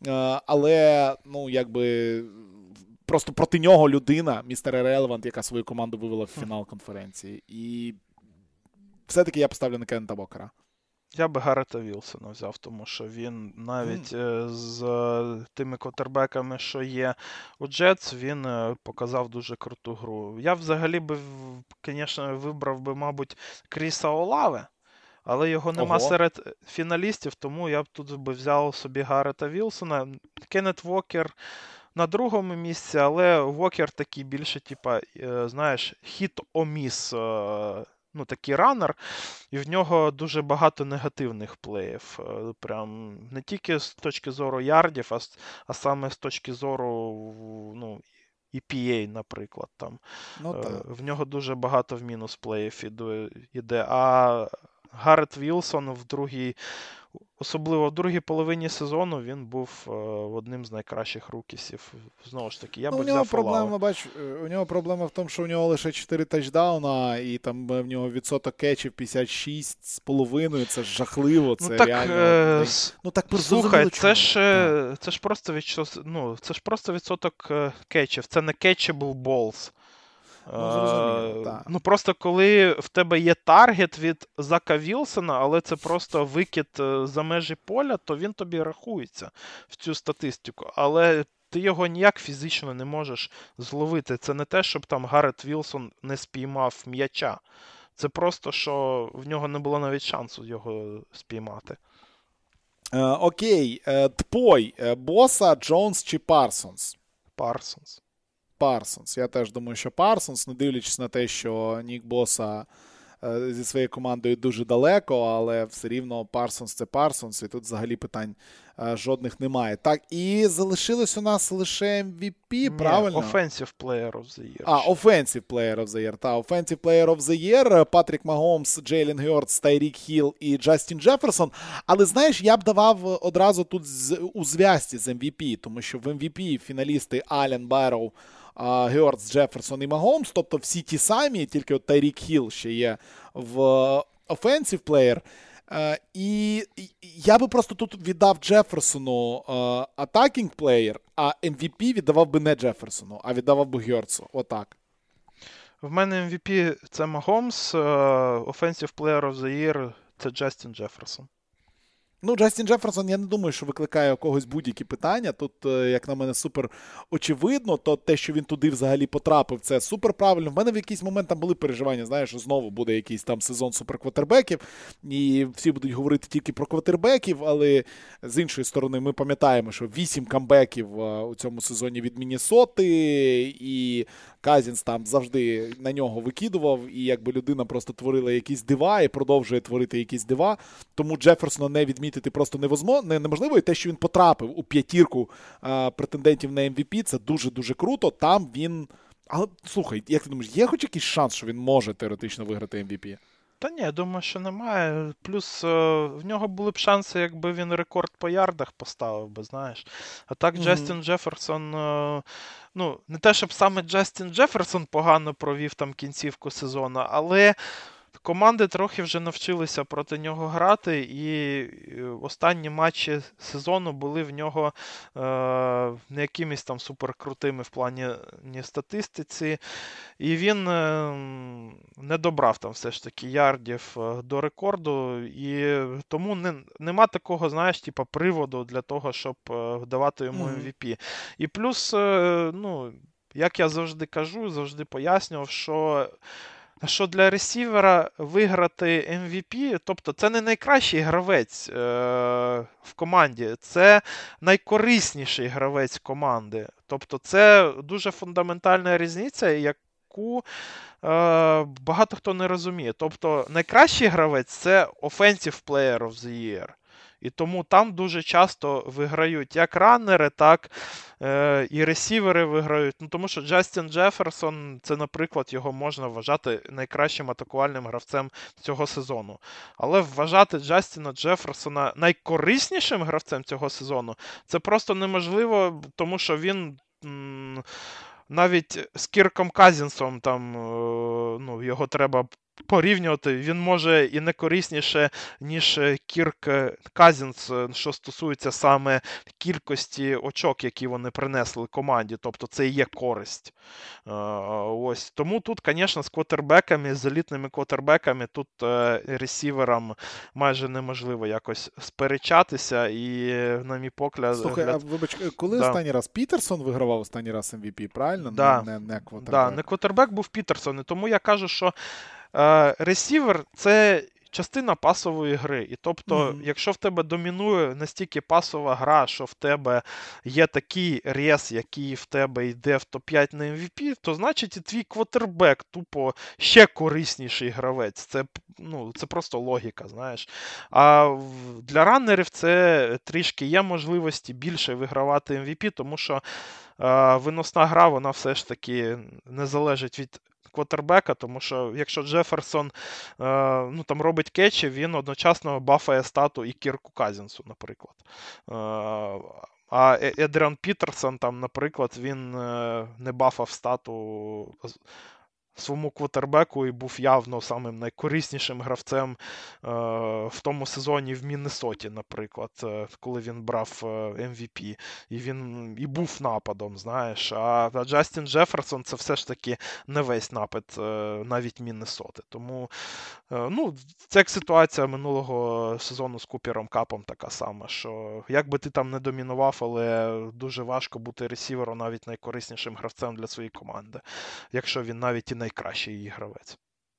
але, ну, якби, просто проти нього людина, містер Irrelevant, яка свою команду вивела в фінал конференції. І все-таки я поставлю на Кеннета Вокера. Я би Гаррета Вілсона взяв, тому що він навіть mm. з тими квотербеками, що є у Джетс, він показав дуже круту гру. Я взагалі би, звісно, вибрав би, мабуть, Кріса Олаве, але його нема Ого. серед фіналістів, тому я б тут би взяв собі Гаррета Вілсона. Кеннет Вокер на другому місці, але Вокер такий більше, типа, знаєш, хіт-о-міс, ну, такий ранер, і в нього дуже багато негативних плеїв. Прям не тільки з точки зору ярдів, а, а саме з точки зору, ну, і пі ей, наприклад. Там. Ну, в нього дуже багато в мінус плеїв іде. А Гаррет Вілсон в другій, особливо в другій половині сезону, він був е, одним з найкращих рукісів. Знову ж таки, я ну, би у нього взяв проблема, бач, у нього проблема в тому, що у нього лише чотири тачдауна, і там в нього відсоток кетчів п'ятдесят шість з половиною, це жахливо, це ну, так, реально. Е... Ну, так слухай, це ж, це, ж просто від... ну, це ж просто відсоток кетчів, це не catchable balls. Ну, зрозуміло, так. Ну, просто коли в тебе є таргет від Зака Вілсона, але це просто викид за межі поля, то він тобі рахується в цю статистику. Але ти його ніяк фізично не можеш зловити. Це не те, щоб там Гаррет Вілсон не спіймав м'яча. Це просто, що в нього не було навіть шансу його спіймати. Е, окей. Е, Тпой. Е, Боса, Джонс чи Парсонс? Парсонс. Парсонс. Я теж думаю, що Парсонс, не дивлячись на те, що Нік Боса е, зі своєю командою дуже далеко, але все рівно Парсонс – це Парсонс, і тут взагалі питань е, жодних немає. Так, і залишилось у нас лише ем ві пі, Ні, правильно? Offensive Player of the Year. А, Offensive Player of the Year, та, Offensive Player of the Year, Патрік Магомс, Джейлен Гьортс, Тайрік Хілл і Джастін Джеферсон. Але, знаєш, я б давав одразу тут з, у зв'язці з ем ві пі, тому що в ем ві пі фіналісти Аллен, Барроу, Гьортс, Джеферсон і Магомс, тобто всі ті самі, тільки от Тайрік Хілл ще є в Offensive Player. І я би просто тут віддав Джеферсону Attacking Player, а ем ві пі віддавав би не Джеферсону, а віддавав би Гьортсу. Отак. В мене ем ві пі це Магомс, Offensive Player of the Year це Джастін Джеферсон. Ну, Джастін Джеферсон, я не думаю, що викликає у когось будь-які питання. Тут, як на мене, супер очевидно, то те, що він туди взагалі потрапив, це супер правильно. В мене в якийсь момент там були переживання, знаєш, що знову буде якийсь там сезон суперквотербеків, і всі будуть говорити тільки про квотербеків, але з іншої сторони ми пам'ятаємо, що вісім камбеків у цьому сезоні від Міннесоти, і Казінс там завжди на нього викидував, і якби людина просто творила якісь дива і продовжує творити якісь дива, тому Джеферсона не відмітити просто неможливо, і те, що він потрапив у п'ятірку а, претендентів на ем ві пі, це дуже-дуже круто, там він... Але, слухай, як ти думаєш, є хоч якийсь шанс, що він може теоретично виграти ем ві пі? Та ні, я думаю, що немає. Плюс е, в нього були б шанси, якби він рекорд по ярдах поставив би, знаєш. А так Угу. Джастін Джеферсон, е, ну, не те, щоб саме Джастін Джеферсон погано провів там кінцівку сезону, але команди трохи вже навчилися проти нього грати, і останні матчі сезону були в нього е, не якимись там суперкрутими в плані ні статистиці. І він е, не добрав там все ж таки ярдів е, до рекорду, і тому не, нема такого, знаєш, типу, приводу для того, щоб е, давати йому Мгм. Ем Ві Пі. І плюс, е, ну, як я завжди кажу, завжди пояснював, що що для ресівера виграти Ем Ві Пі, тобто це не найкращий гравець е, в команді, це найкорисніший гравець команди. Тобто це дуже фундаментальна різниця, яку е, багато хто не розуміє. Тобто найкращий гравець це Offensive Player of the Year. І тому там дуже часто виграють як раннери, так е, і ресівери виграють. Ну, тому що Джастін Джеферсон, це, наприклад, його можна вважати найкращим атакувальним гравцем цього сезону. Але вважати Джастіна Джеферсона найкориснішим гравцем цього сезону, це просто неможливо, тому що він... М- навіть з Кірком Казінсом там, е, ну, його треба порівнювати, він може і не корисніше, ніж Кірк Казінс, що стосується саме кількості очок, які вони принесли команді. Тобто це і є користь. Ось. Тому тут, звісно, з квотербеками, з елітними квотербеками, тут ресіверам майже неможливо якось сперечатися. І, на мій погляд... Слухай, а вибач, коли да. останній раз Пітерсон вигравав останній раз Ем Ві Пі, правильно? Да. Не, не, не квотербек. Да, не квотербек був Пітерсон. І тому я кажу, що е, ресівер – це частина пасової гри. І тобто, mm-hmm. якщо в тебе домінує настільки пасова гра, що в тебе є такий рез, який в тебе йде в топ п'ять на Ем Ві Пі, то значить і твій квотербек тупо ще корисніший гравець. Це, ну, це просто логіка, знаєш. А для раннерів це трішки є можливості більше вигравати Ем Ві Пі, тому що е, виносна гра, вона все ж таки не залежить від квотербека, тому що якщо Джеферсон е, ну, там робить кетчі, він одночасно бафає стату і Кірку Казінсу, наприклад. Е, а Едріан Пітерсон, там, наприклад, він е, не бафав стату своєму квотербеку і був явно самим найкориснішим гравцем е, в тому сезоні в Міннесоті, наприклад, е, коли він брав Ем Ві Пі. І він і був нападом, знаєш. А, а Джастін Джеферсон це все ж таки не весь напад е, навіть Міннесоти. Тому, е, ну, це як ситуація минулого сезону з Купером Капом така сама, що як би ти там не домінував, але дуже важко бути ресівером навіть найкориснішим гравцем для своєї команди, якщо він навіть і найкращий її гравець.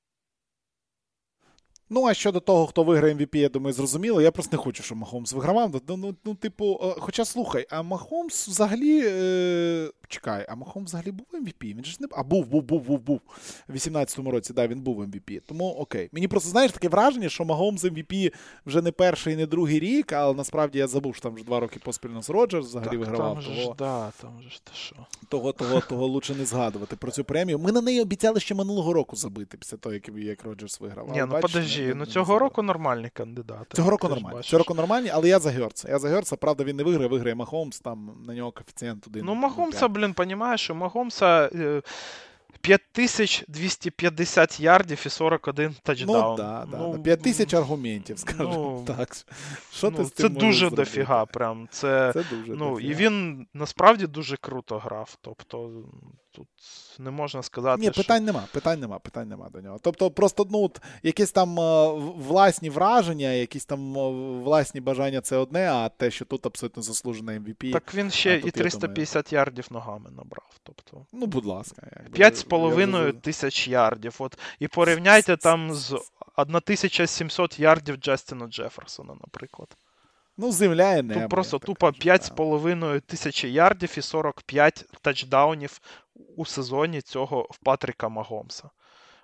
Ну, а щодо того, хто виграє Ем Ві Пі, я думаю, зрозуміло. Я просто не хочу, щоб Махомс вигравав. Ну, ну, ну типу, хоча, слухай, а Махомс взагалі... Е... Чекай, а Махомс взагалі був Ем Ві Пі? Він же не... А, був, був, був, був, був. У вісімнадцятому році, да, він був Ем Ві Пі. Тому окей. Мені просто, знаєш, таке враження, що Махомс Ем Ві Пі вже не перший, не другий рік, але насправді я забув, що там вже два роки поспільно з Роджерс взагалі так, вигравав. Там же того... ж, да, там же ж ти що. Того, того, того лучше не згадувати про цю премію. Ми на неї обіцяли ще минулого року забити, після того, як, як Роджерс виграв. Ні, ну бачиш, подожди, не, ну не цього року нормальні кандидати. Цього року нормальні. Цього року нормальні, але я за Герца. Я за Герца, правда, він не виграє, виграє Махомс, там на нього коефіцієнт один. Ну, Махомса, блін, понімаєш, у Махомса е, п'ять тисяч двісті п'ятдесят ярдів і сорок один тачдаун. Ну, да, да, ну, да. п'ять тисяч аргументів, скажімо ну, так. Що ну, ти з це цим дуже зробити? дофіга, прям. Це, це дуже ну, дофіга. І він насправді дуже круто грав. Тобто, тут не можна сказати, Ні, що... питань нема, питань нема, питань нема до нього. Тобто, просто, ну, от, якісь там е, власні враження, якісь там е, власні бажання — це одне, а те, що тут абсолютно заслужений Ем Ві Пі. Так він ще тут, і триста п'ятдесят думаю... ярдів ногами набрав. Тобто, ну, будь ласка. п'ять з половиною тисяч ярдів. От. І порівняйте там з тисяча сімсот ярдів Джастіна Джеферсона, наприклад. Ну, земля і небо. Тут просто тупо п'ять з половиною тисячі ярдів і сорок п'ять тачдаунів у сезоні цього в Патріка Махомса.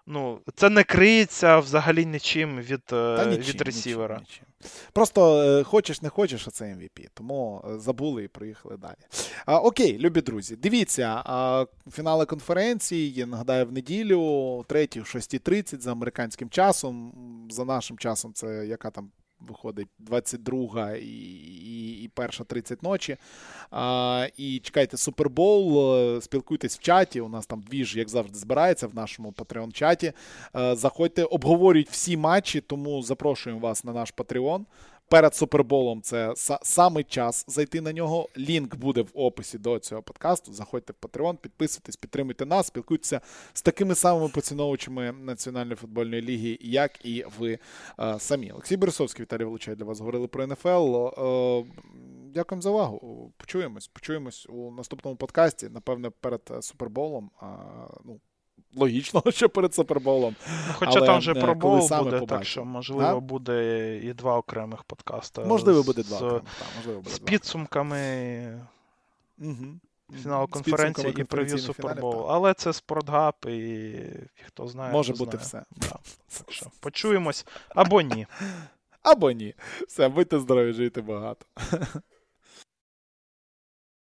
ну, це не криється взагалі нічим від, Та нічим, від ресівера. Нічим, нічим. Просто е, хочеш не хочеш, а це Ем Ві Пі. Тому е, забули і приїхали далі. А, окей, любі друзі, дивіться, а, фінали конференції, нагадаю, в неділю, третій, в шостій тридцять за американським часом. За нашим часом це яка там виходить двадцять друга і, і, і перша тридцять ночі. А, і чекайте Супербоул, спілкуйтесь в чаті, у нас там двіж, як завжди, збирається в нашому Patreon-чаті. А, заходьте, обговорюють всі матчі, тому запрошуємо вас на наш Patreon. Перед Суперболом це са- саме час зайти на нього. Лінк буде в описі до цього подкасту. Заходьте в Patreon, підписуйтесь, підтримуйте нас, спілкуйтеся з такими самими поціновувачами Національної футбольної ліги, як і ви е, самі. Олексій Борисовський, Віталій Волочай для вас говорили про Ен Еф Ел. Е, дякуємо за увагу. Почуємось. Почуємось у наступному подкасті. Напевне, перед Суперболом. Е, ну, Логічно, що перед Суперболом. Ну, хоча там вже про бол буде, побачимо. так що, можливо, а? буде і два окремих подкаста. Можливо, буде два з, окремих. Так, можливо, буде з два. підсумками Угу. фіналу конференції і прев'ю Суперболу. Але це Спортгап, і хто знає, може хто бути знає. все. Так, так що, почуємось або ні. Або ні. Все, будьте здорові, жийте багато.